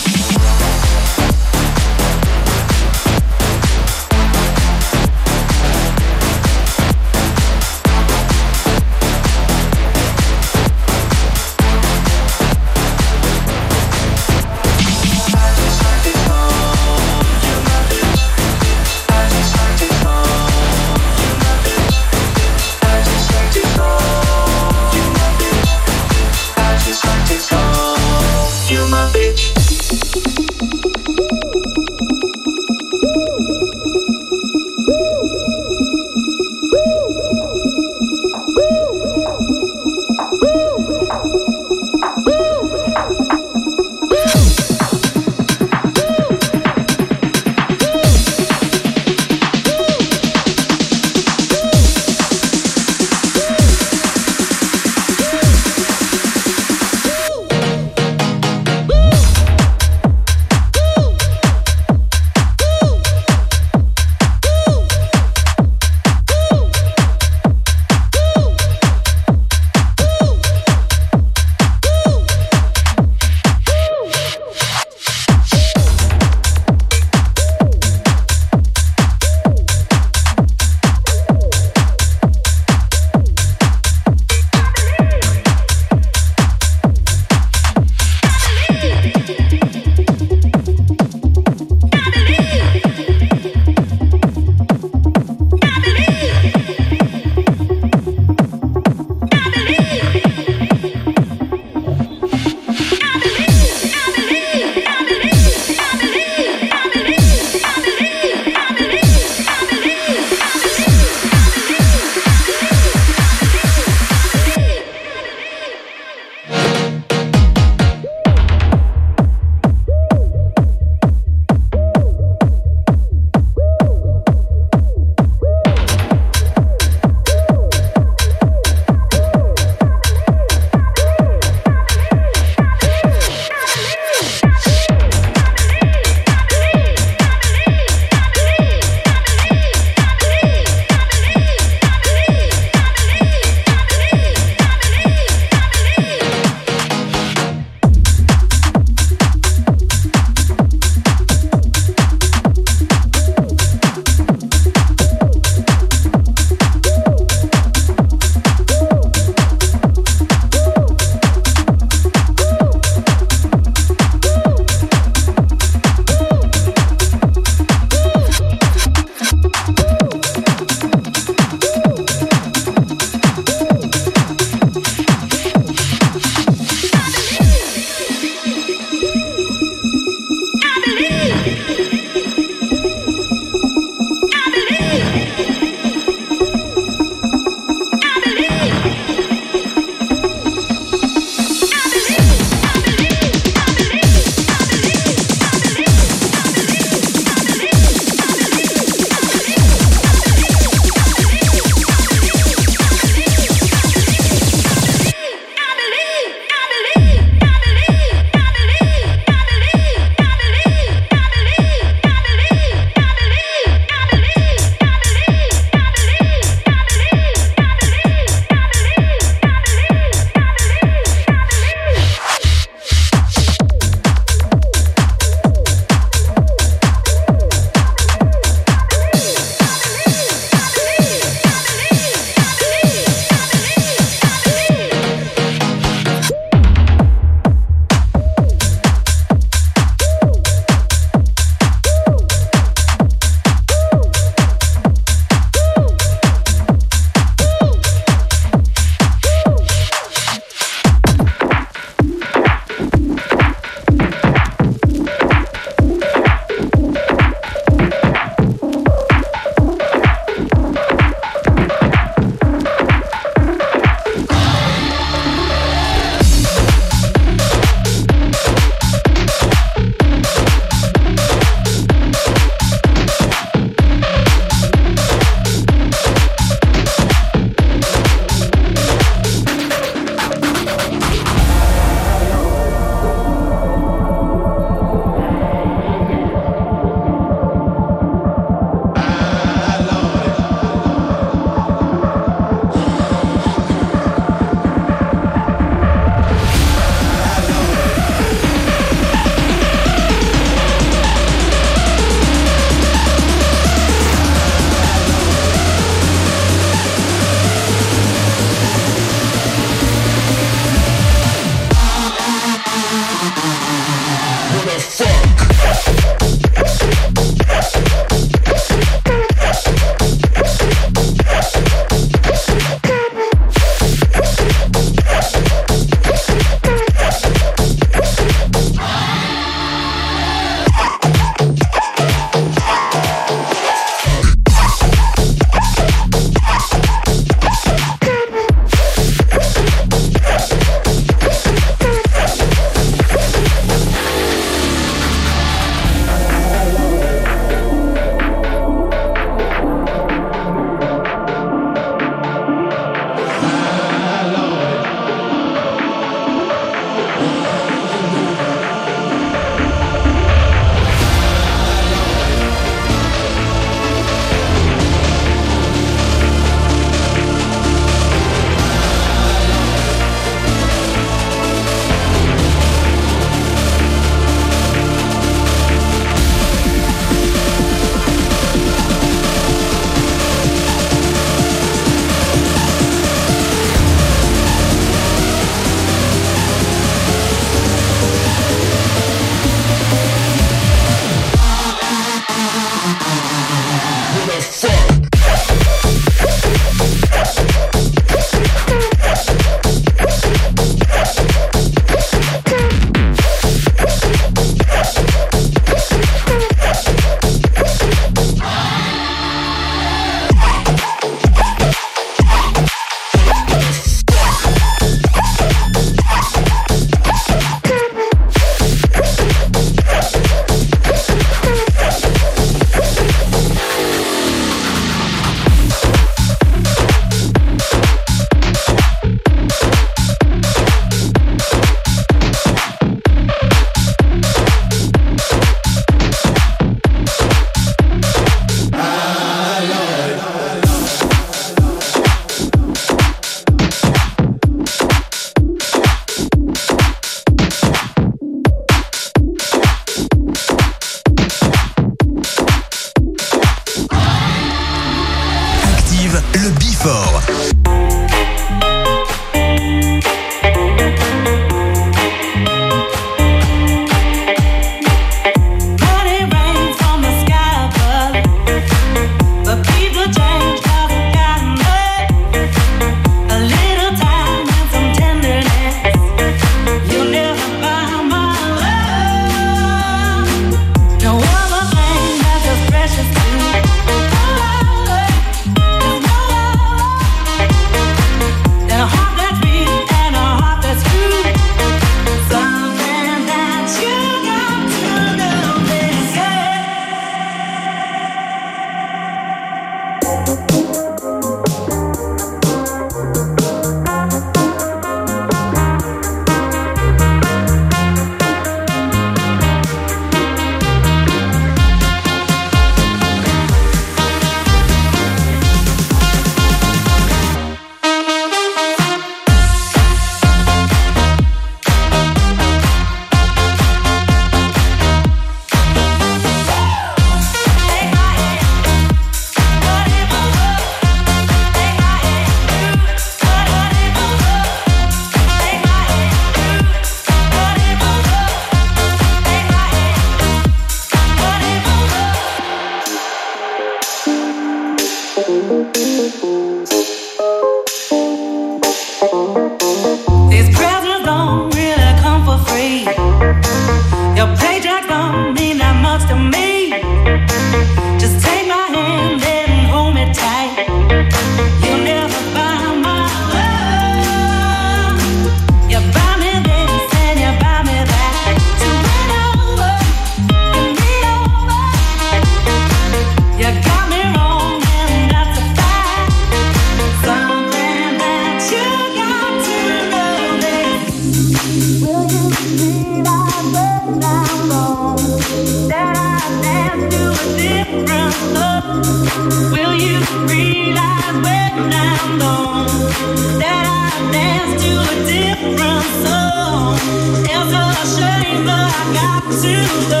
Will you realize when I'm gone that I dance to a different song? It's a shame, but I got to go.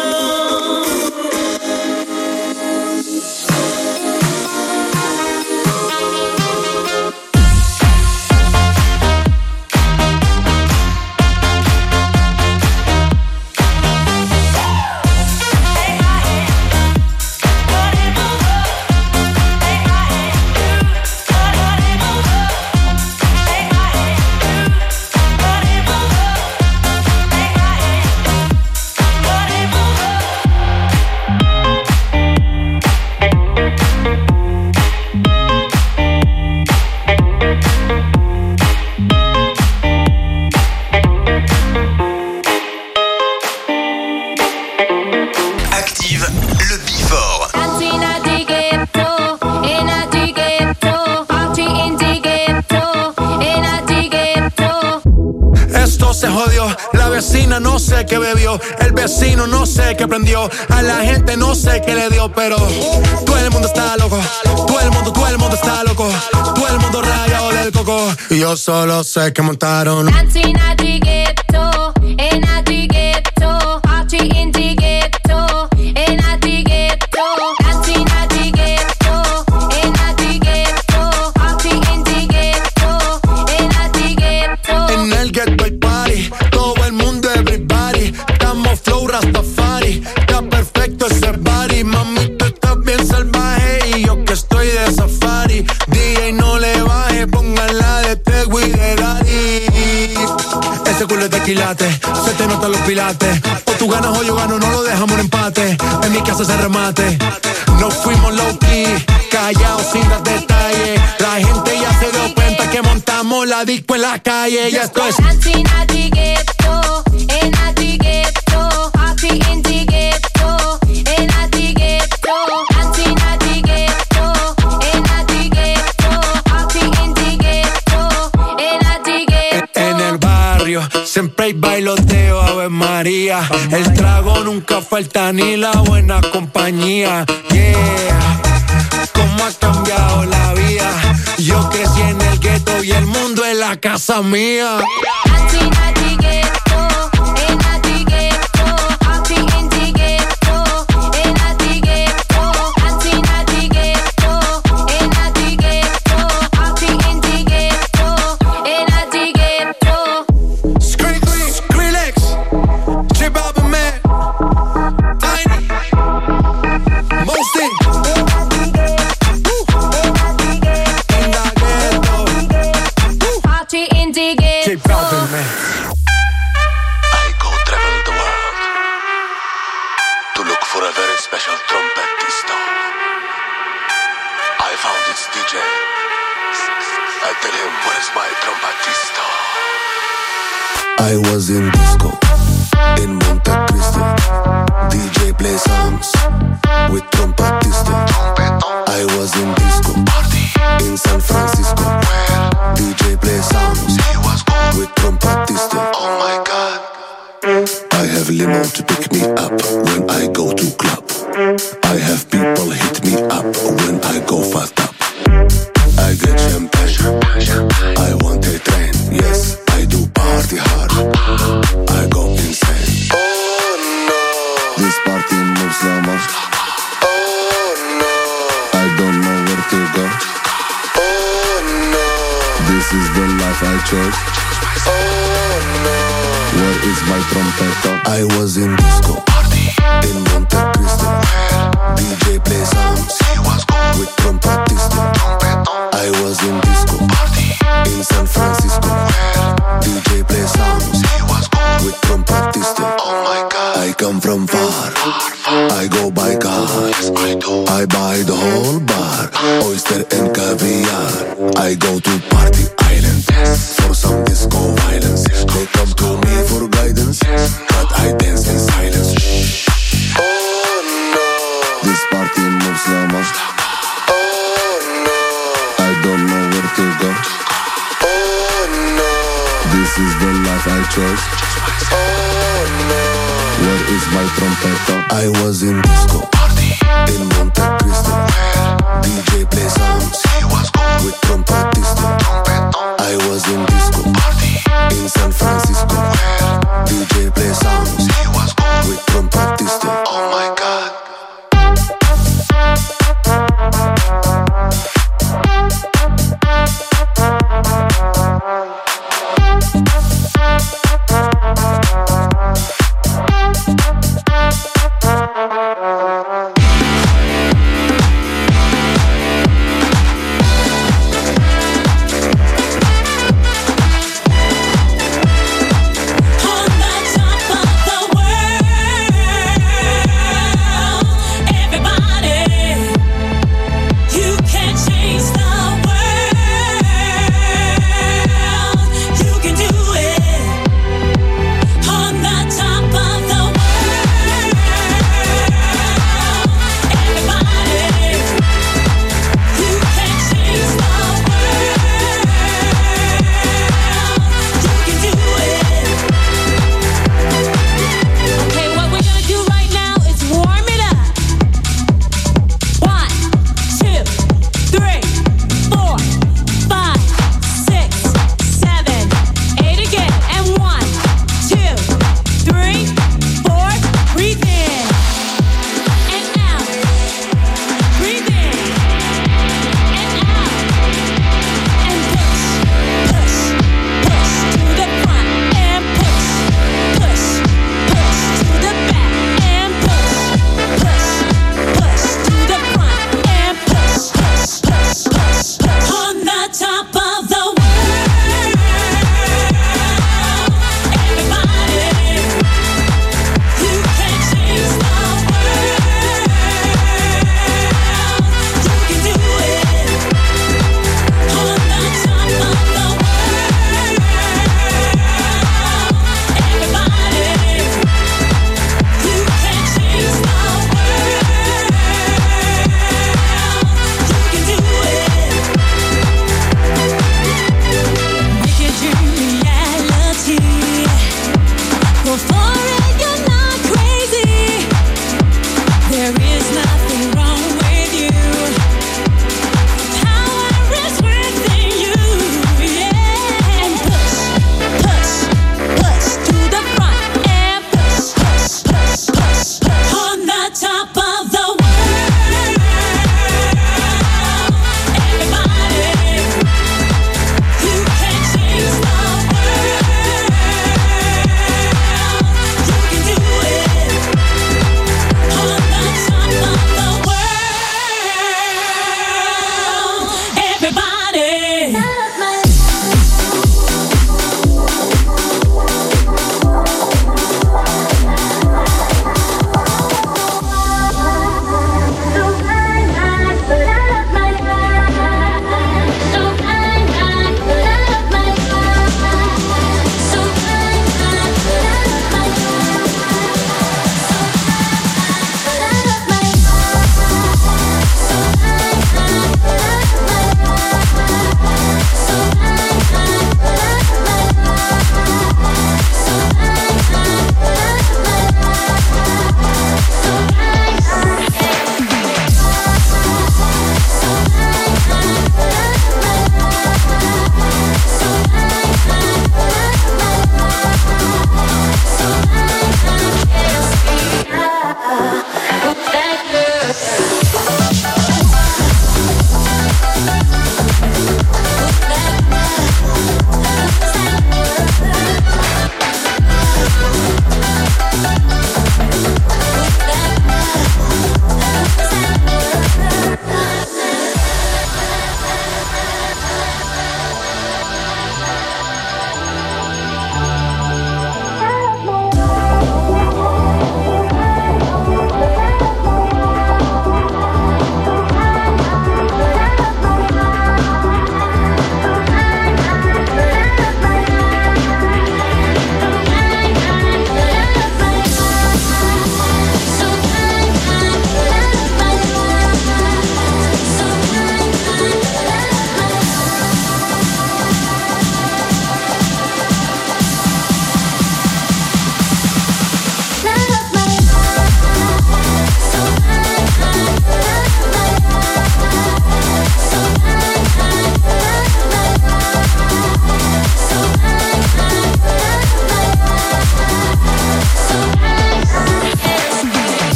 No sé qué bebió, el vecino no sé qué prendió, a la gente no sé qué le dio, pero todo el mundo está loco, todo el mundo está loco, todo el mundo rayado del coco, y yo solo sé que montaron. Dancing at the ghetto, in at the ghetto, party in the ghetto, in at the ghetto, dancing at the ghetto, in at the ghetto, party in the ghetto, in at the ghetto. En el ghetto hay party, todo el mundo everybody, estamos flow Rastafari, está perfecto ese body, mami tú estás bien salvaje y yo que estoy de safari, DJ no le baje, póngala de Tego y de Daddy. Ese culo es de quilate, se te notan los pilates, o tú ganas o yo gano, no lo dejamos en empate, en mi casa se remate, nos fuimos low key, callados sin dar detalles, la gente ya se dio cuenta que montamos la disco en la calle, ya esto es Dancing at the ghetto, in at the ghetto, party in the ghetto, in at the ghetto, dancing at the ghetto, in at the ghetto, party in the ghetto, in at the ghetto. En el barrio siempre hay bailoteo, Ave María, el trago nunca falta ni la buena compañía, yeah. Cómo ha cambiado la vida, yo crecí en el gueto y el mundo es la casa mía. Dancing at the ghetto, in at the ghetto, party in the ghetto, in at the ghetto, dancing at the ghetto, in at the ghetto, party in the ghetto, in at the ghetto. Skrillex, J Balvin, man, Tiny, Mosty. Party in the ghetto. J Balvin, man. I go travel the world to look for a very special trumpetista. I found this DJ. I tell him, where's my trumpetista? I was in disco in Monte Cristo. DJ play songs with trumpetista. I was in disco in San Francisco. DJ play songs with trumpetista. Oh my God. I have limo to pick me up when I go to club. I have people hit me up when I go fast up. I get champagne. I want a train. Yes, I do party hard. I go insane. Oh no. This party moves so much. Oh no. I don't know where to go. Oh no. This is the life I chose. Oh no. Where is my trompeta? I was in disco in Monte Cristo. DJ play songs with trumpetista. I was in disco in San Francisco. DJ play songs with trumpetista. Oh my God. I come from far. I go by car. I buy the whole bar, oyster and caviar. I go to Party Island for some disco violence. They come to me for guidance, but I dance in silence. Oh no. This party moves so much. Oh no. I don't know where to go. Oh no. This is the life I chose. Oh no. Where is my trompeta? I was in disco in Monte Cristo. DJ play songs with trompetista. I was in disco in San Francisco. DJ play songs with trompetista. Oh my God. On the top of the world.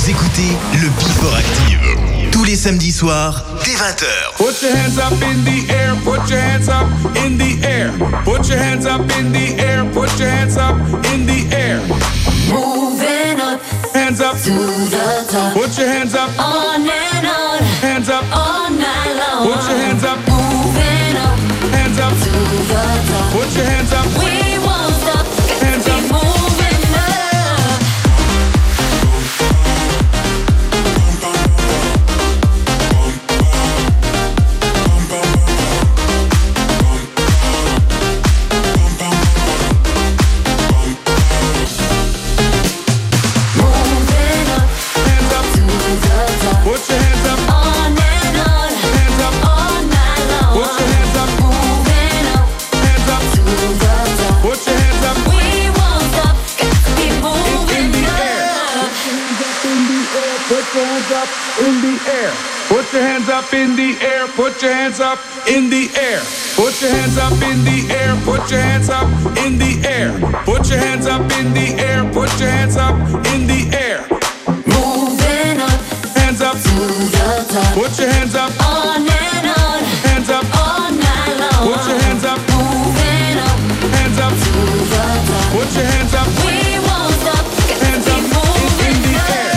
Vous écoutez le Before Active. Tous les samedis soirs, dès 20h. Put your hands up in the air, put your hands up in the air. Put your hands up in the air, put your hands up in the air. Moving up, hands up to the top. Put your hands up, on and on, hands up all night long. Put your hands up, moving up, hands up to the top. Put your hands up, we won't stop. Hands up, keep moving up. in the air. Put your hands up in the air. Put your hands up in the air. Put your hands up in the air. Put your hands up in the air. Put your hands up in the air. Put your hands up in the air. Moving up, hands up to the top. Put your hands up on and on. Hands up all night long. Put your hands up. Moving up, hands up to the top. Put your hands up. We won't stop. Hands up in the air.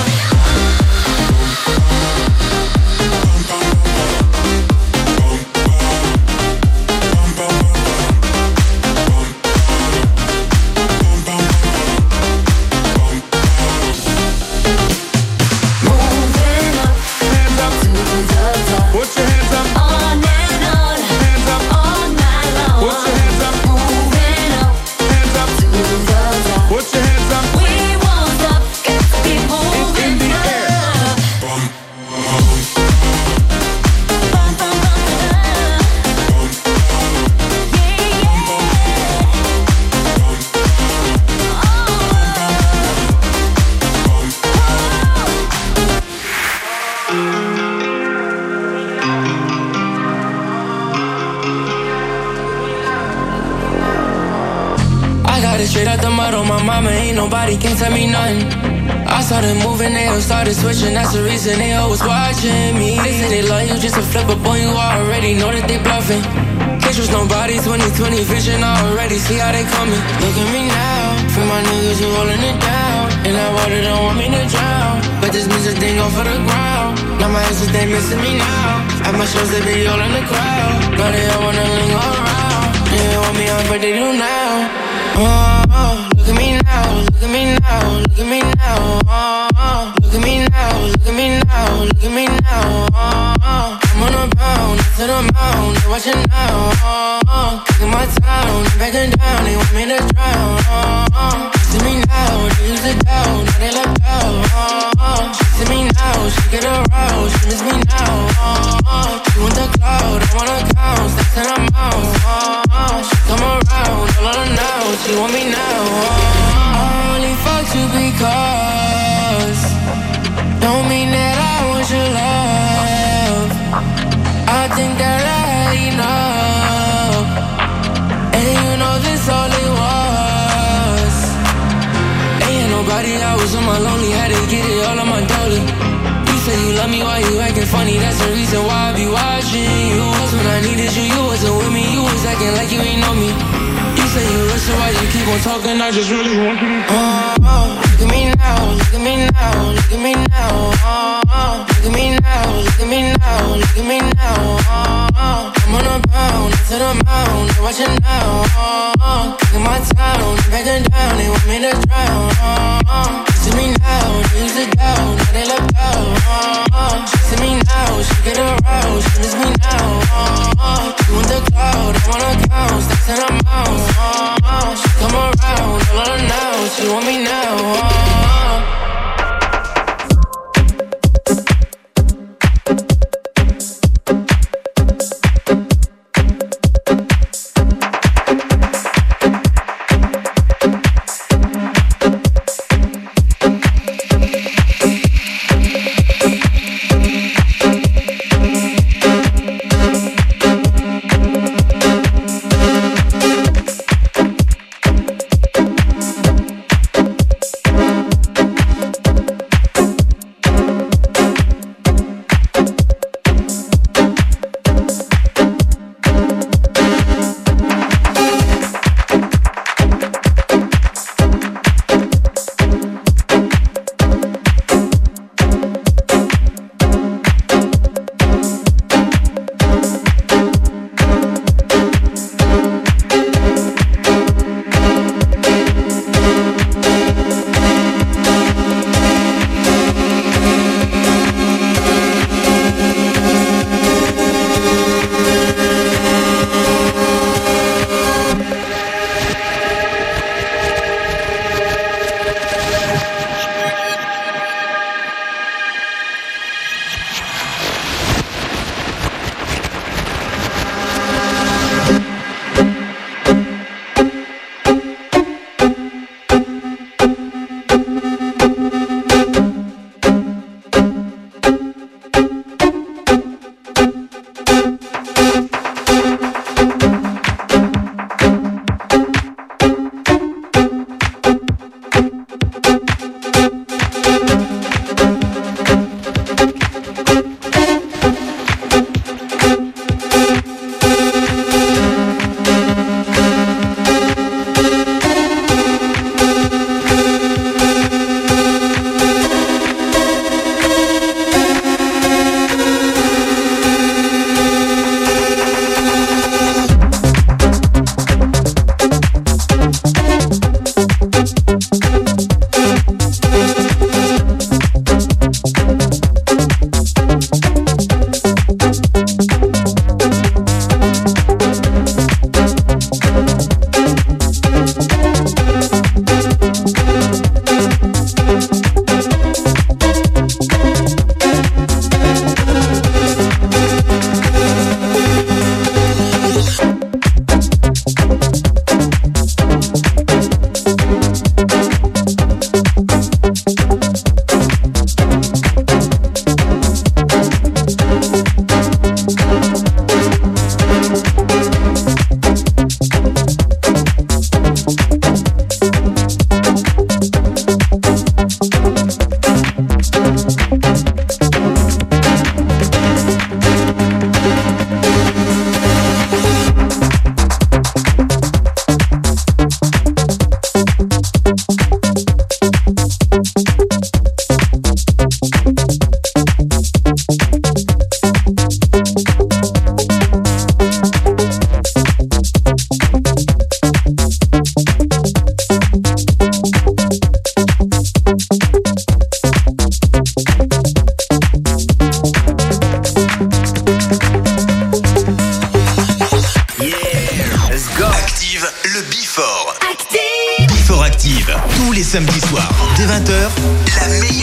Nobody can tell me nothing. I started moving, they all started switching. That's the reason they always watching me. They say they love you just to flip up on you. I already know that they bluffing. Can't trust nobody, 20/20 vision. I already see how they coming. Look at me now, for my niggas, you holding it down. And that water don't want me to drown. But this music thing go for the ground. Now my exes, they missing me now. At my shows, they be all in the crowd. Now they all wanna linger around. They want me on, but they do now. Look at me now, look at me now, look at me now. Look at me now, look at me now, look at me now. I'm on a bound, to the mound, they're watching now. Kicking my town, backing down, they want me to drown. She see me now, they used to doubt, now they left out. She see me now, she get aroused, she miss me now. She want the cloud, I wanna count, stacks in her mouth. She come around, all of them now, she want me now. I only fuck you because don't mean that I want your love. I think that I had enough, and you know this all it was. Ain't nobody, I was on my lonely, had to get it all on my dolly. You say you love me, why you acting funny? That's the reason why I be watching you. Cause when I needed you, you wasn't with me. You was acting like you ain't know me. You say you listen, why you keep on talking? I just really want you. Look at me now, look at me now, look at me now. Look at me now, look at me now, look at me now. I'm on a bound, to the mound, they're watching now. Kicking my town, backing down, they want me to drown. She see me now, they used to doubt, now they left out. She see me now, she get aroused, she miss me now. She want the cloud, I wanna count, stacks in her mouth. She come around, all of her now, she want me now.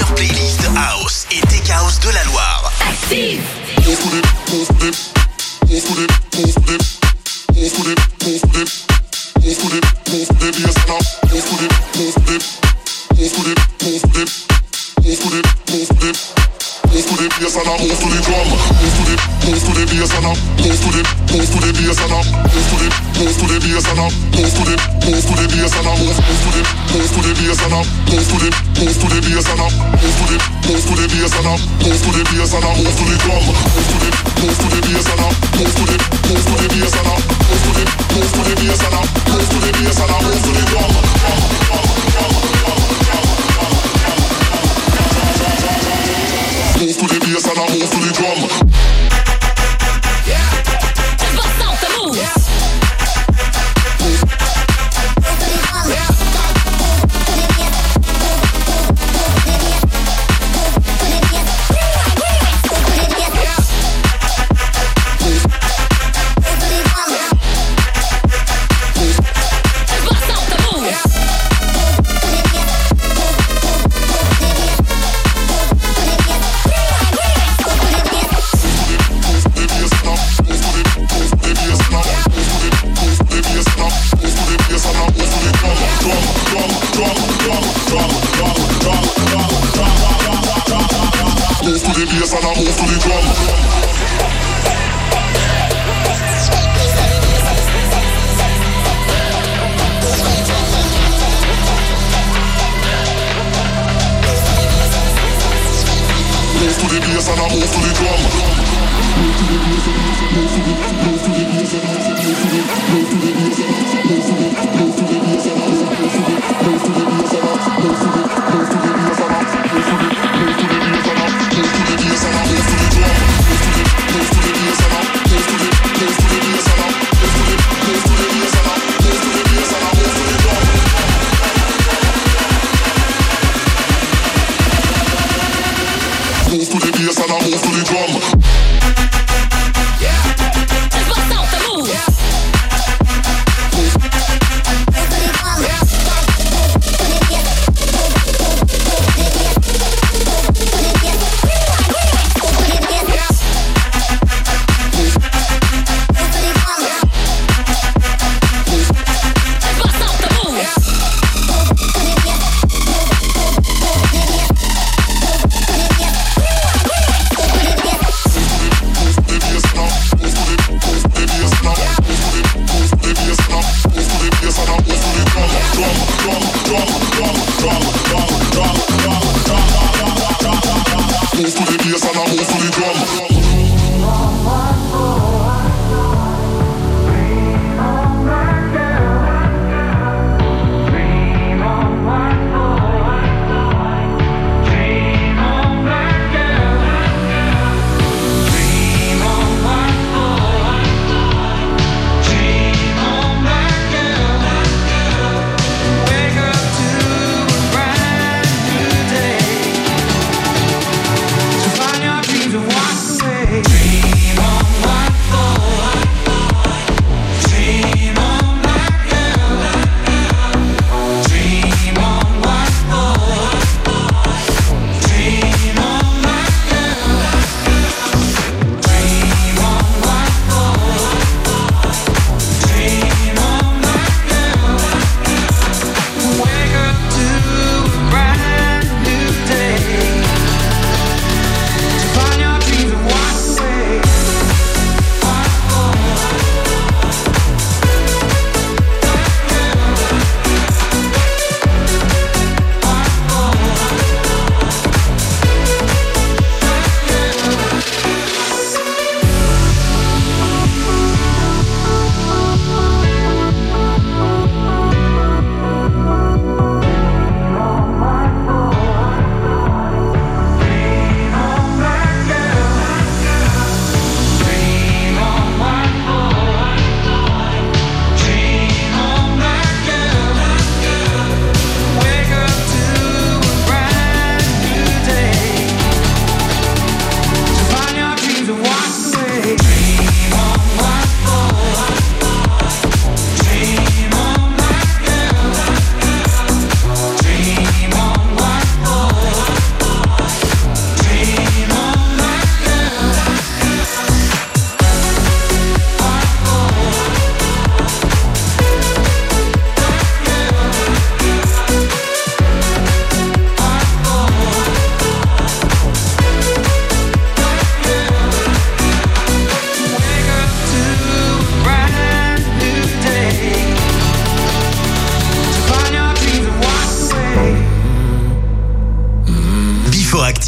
meilleure playlist house et tech house de la Loire. Active. Move to the bass and I move to the drum. Move to the bass and I move to the bass and I move to the bass and I move to the bass and I move to the bass and I move to the bass and I move to the bass and I move to the bass and I move to the drum. Move to the bass and I move to the bass and I move to the bass and I move to the bass and I move to the drum. Move to the bass and I move to the drum. Just bust out the moves. Move to the bass and I move to the drum. Move to the bass and I move to the drum. Move to the bass and I move to the drum. Just bust out the moves. Move to the bass and I move to the drum. Dreams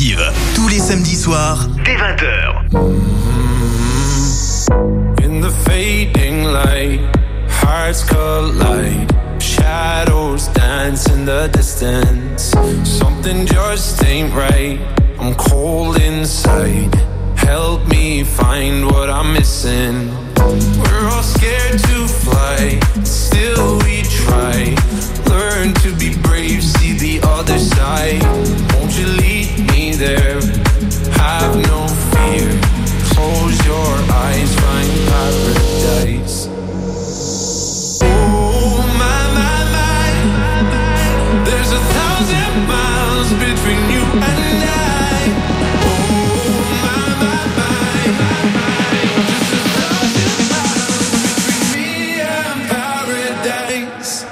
Active, tous les samedis soirs, dès 20h. In the fading light, hearts collide. Shadows dance in the distance. Something just ain't right. I'm cold inside. Help me find what I'm missing. We're all scared to fly, still we try. Learn to be brave, see the other side. Won't you lead me there? Have no fear. Close your eyes, find paradise. Oh my, my, my. There's 1,000 miles between you and I. Oh my, my, my. Just 1,000 miles between me and paradise.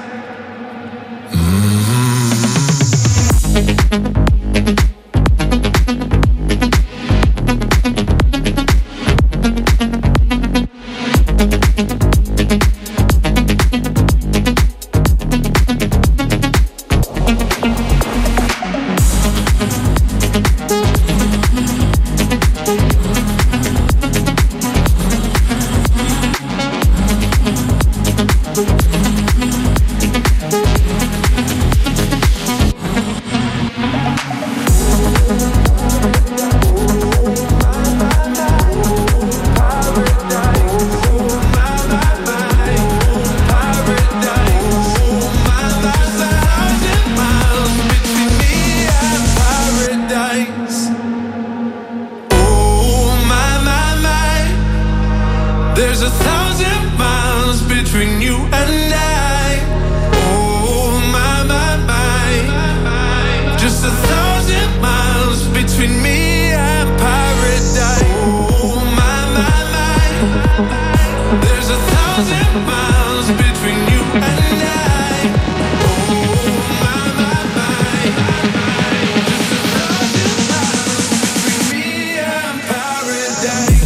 There's 1,000 miles between you and I. Oh my, my, my. Just 1,000 miles between me and paradise. Oh my, my, my. There's 1,000 miles between you and I. Oh my, my, my. Just 1,000 miles between me and paradise.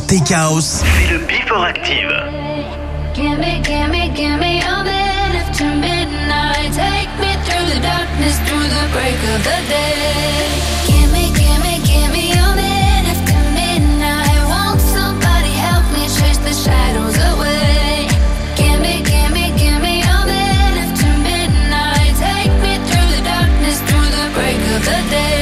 Tech House. C'est le Before Active. Give me all that after midnight. Take me through the darkness, through the break of the day. Give me all that after midnight. Won't somebody help me chase the shadows away? Give me all that after midnight. Take me through the darkness, through the break of the day.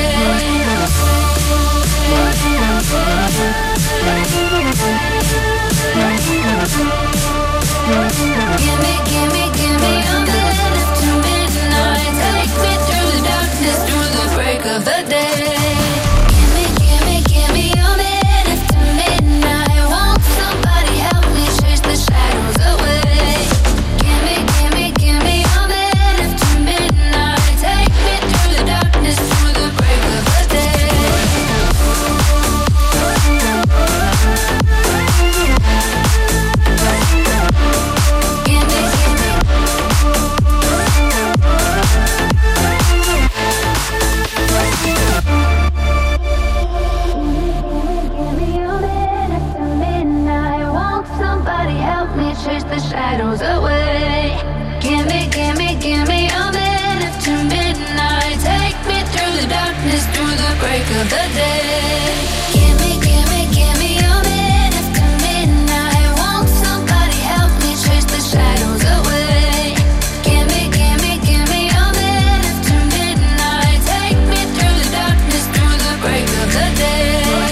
Give me all that after midnight. Take me through the darkness, through the break of the day. Give me all that after midnight. Won't somebody help me chase the shadows away? Give me all that after midnight. Take me through the darkness, through the break of the day. Chase the shadows away. Give me all that after midnight. Take me through the darkness, through the break of the day. Give me all that after midnight. Won't somebody help me chase the shadows away? Give me all that after midnight. Take me through the darkness, through the break of the day.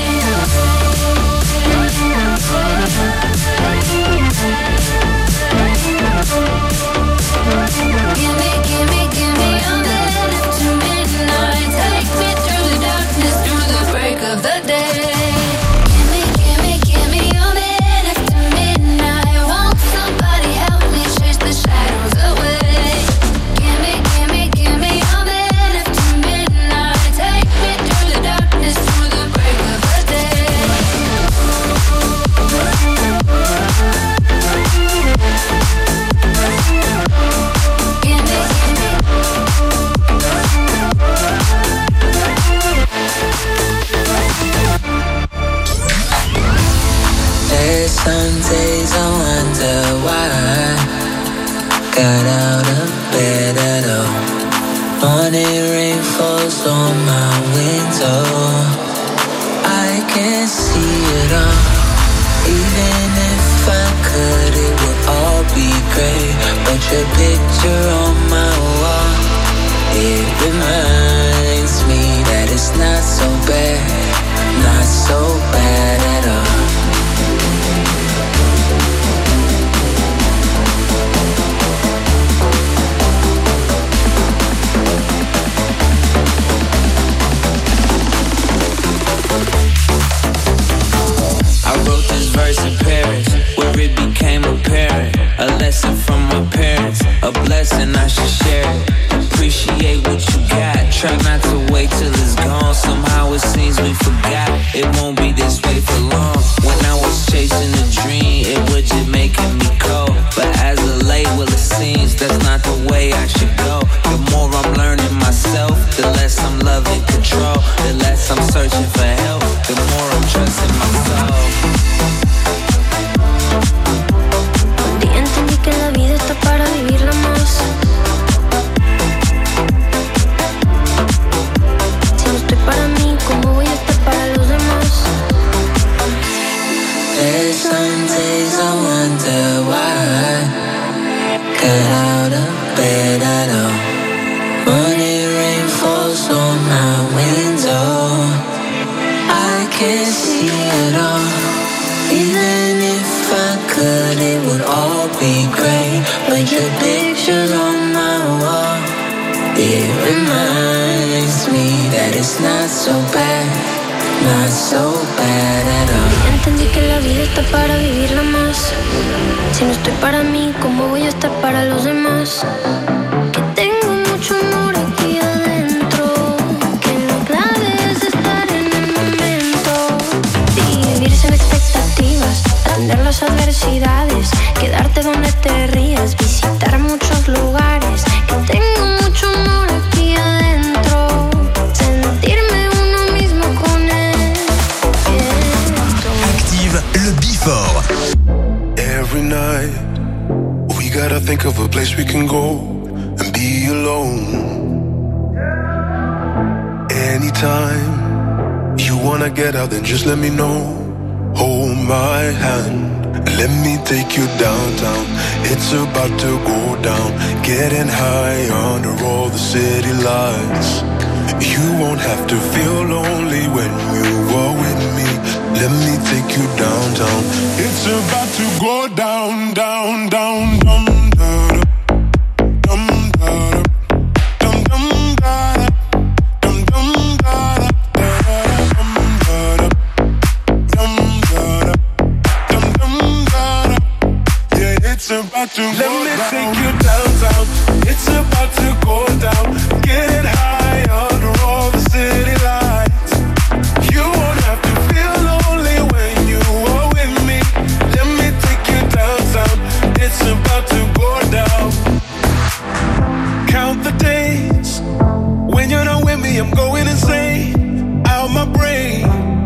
Give me all that after midnight. Take me through the darkness, through the break of the day. Give me all that after midnight. Won't somebody help me chase the shadows away? Give me all that after midnight. Take me through the darkness, through the break of the day. There's some days I wonder why I got out of bed at all. Morning rain falls on my window. I can't see it all. Even if I could, it would all be great. But your picture on my wall, it reminds me that it's not so bad, not so bad at all. I wrote this verse in Paris, where it became apparent. A lesson from my parents, a blessing I should share it. Appreciate what you got, try not to wait till it's gone. Somehow it seems we forgot, it won't be this way for long. When I was chasing a dream, it was just making me cold. But as of late, well it seems that's not the way I should go. The more I'm learning myself, the less I'm loving control. The less I'm searching for help, the more I'm trusting myself. Un día entendí que la vida está para vivirla más. Si no estoy para mí, ¿cómo voy a estar para los demás? There's some days I wonder why I got out of bed at all. Morning rain falls on my window. I can't see it all. Even if I could, it would all be great. But your picture on my wall, it reminds me that it's not so bad, not so bad at all. Entendí que la vida está para vivirla más. Si no estoy para mí, ¿cómo voy a estar para los demás? Que tengo mucho amor aquí adentro, que la clave es estar en el momento y vivir sin expectativas, atender las adversidades, quedarte donde te rías, visitar muchos lugares. Que tengo mucho amor aquí adentro, sentirme uno mismo con él. Active, le night. We gotta think of a place we can go and be alone. Anytime you wanna get out, then just let me know. Hold my hand, let me take you downtown. It's about to go down, getting high under all the city lights. You won't have to feel lonely when you are with me. Let me take you downtown. It's about to go down, down, down, down, down, down, down, down, down, down, down. Yeah, it's about to go down. Let me take you downtown. It's about to go down. Get high under all the city lights. You won't have to feel lonely when you are with me. Let me take you downtown. It's about to go down. Count the days when you're not with me. I'm going insane, out my brain.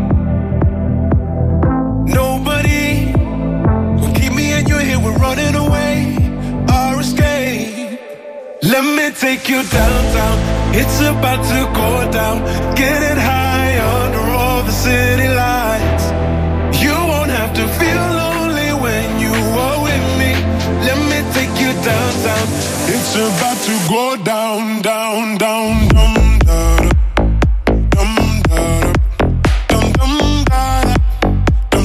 Nobody will keep me and you're here. We're running away, our escape. Let me take you downtown. It's about to go down. Getting high under all the city lights. You won't have to feel lonely when you are with me. Let me take you downtown. It's about to go down, down, down, down, down, down, down, down, down, down,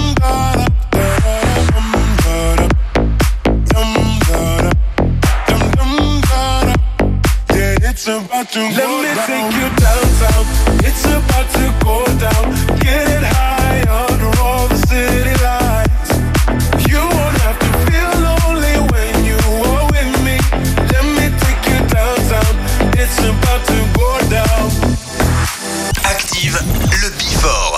down. Yeah, it's about to go down. Let me take you downtown. It's about to go down. Getting high under all the city lights. You won't have to feel lonely when you are with me. Let me take you downtown. It's about to go down. Active le Before.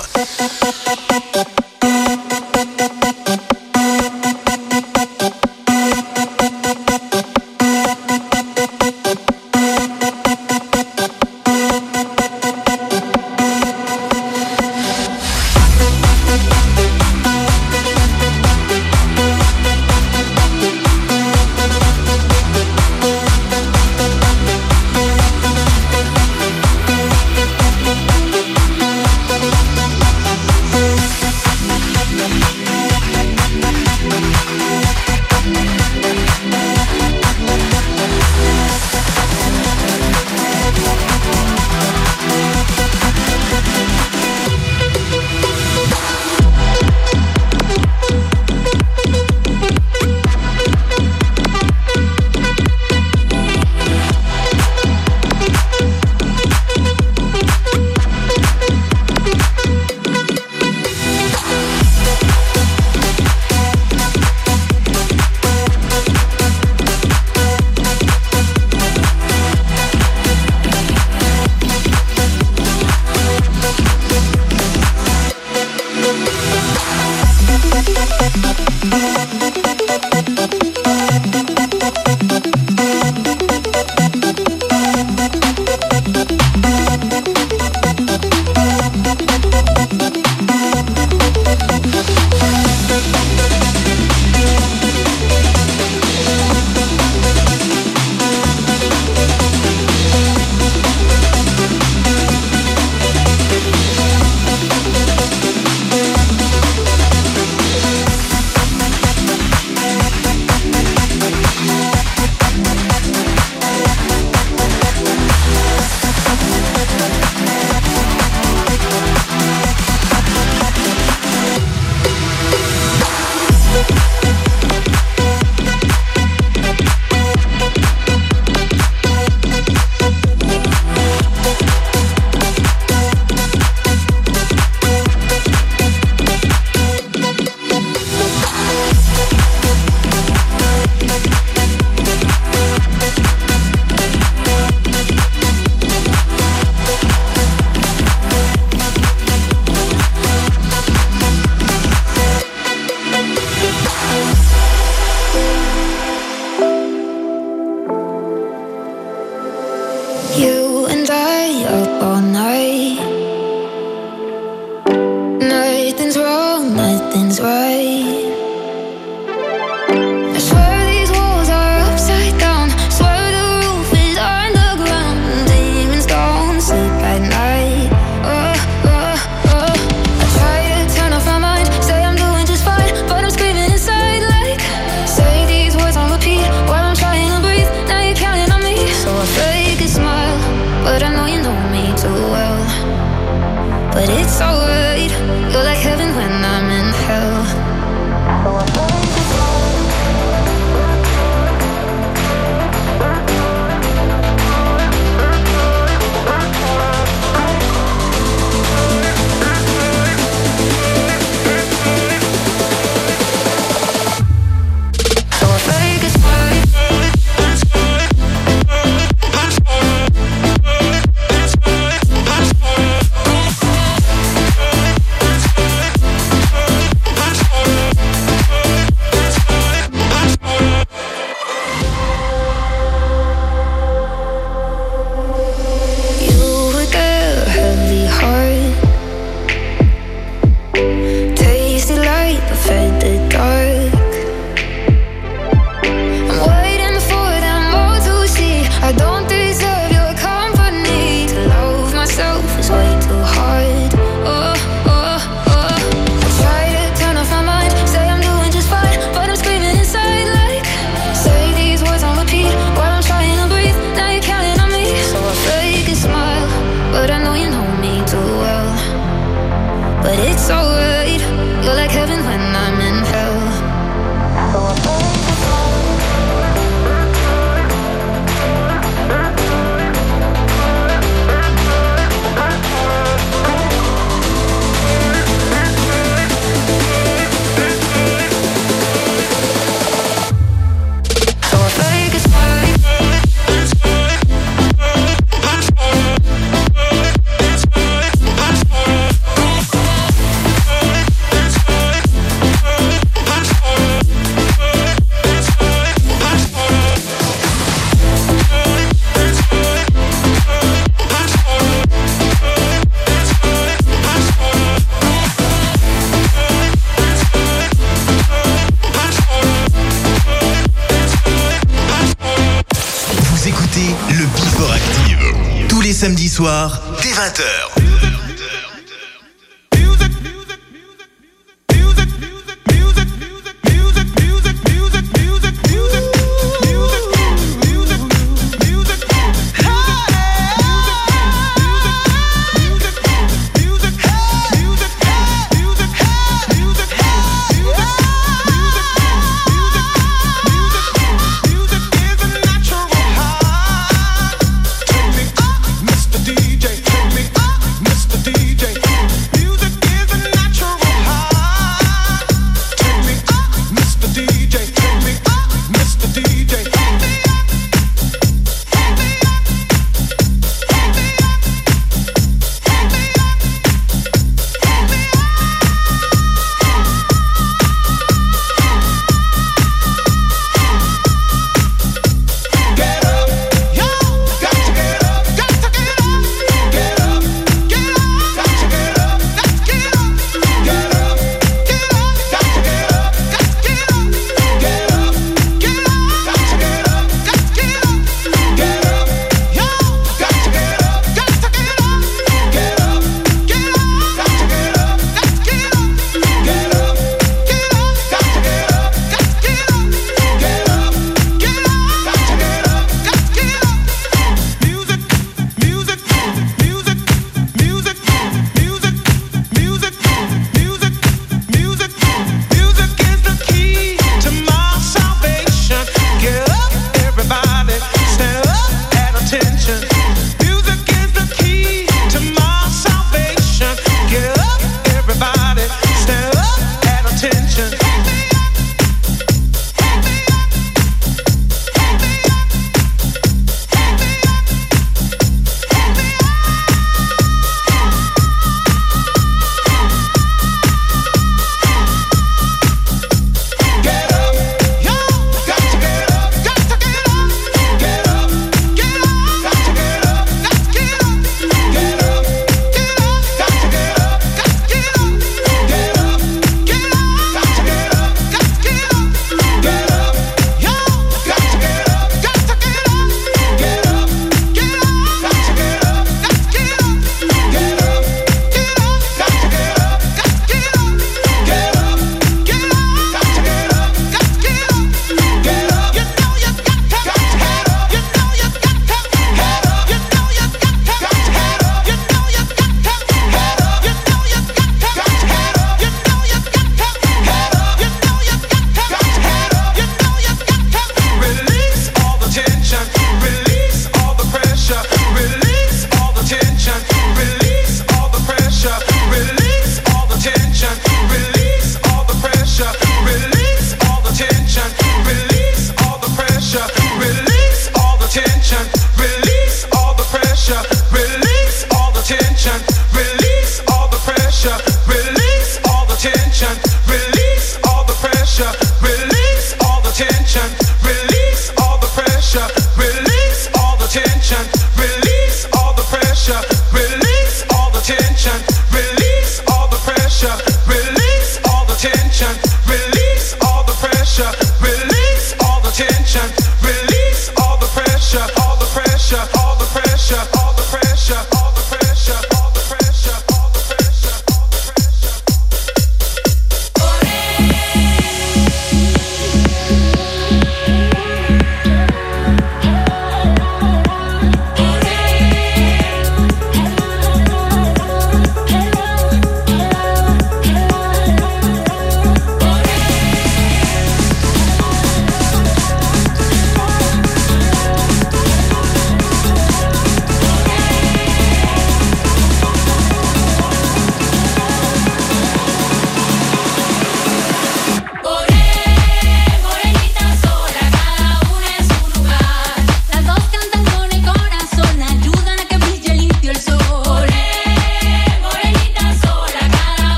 soirs, dès 20h.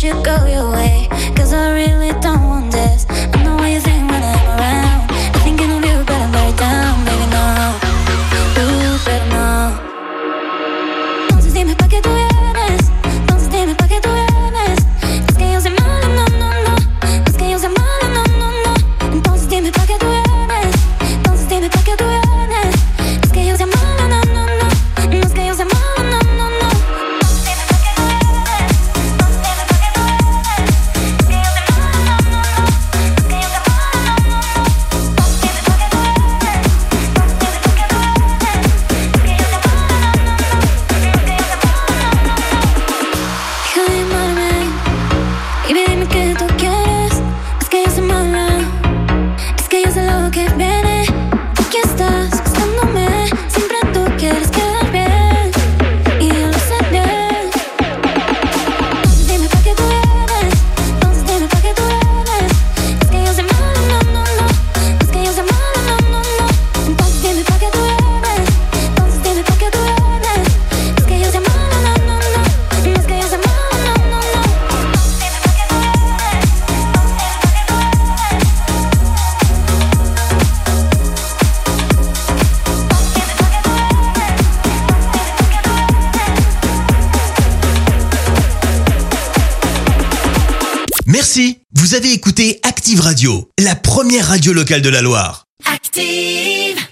should go your way, 'cause I really don't want this. I know what you think when I'm around. I'm thinking of you, but I'm very down, baby, no. You better know. Entonces dime pa' qué tú vienes. Entonces dime pa' qué tú vienes. Es que yo soy mala, no, no, no. Es que yo soy mala, no, no, no. Entonces dime pa' qué tú vienes. Entonces dime pa' qué tú vienes. Es que yo soy mala, no, no, no. No es que yo soy mala, no, no, no. Merci, vous avez écouté Active Radio, la première radio locale de la Loire. Active.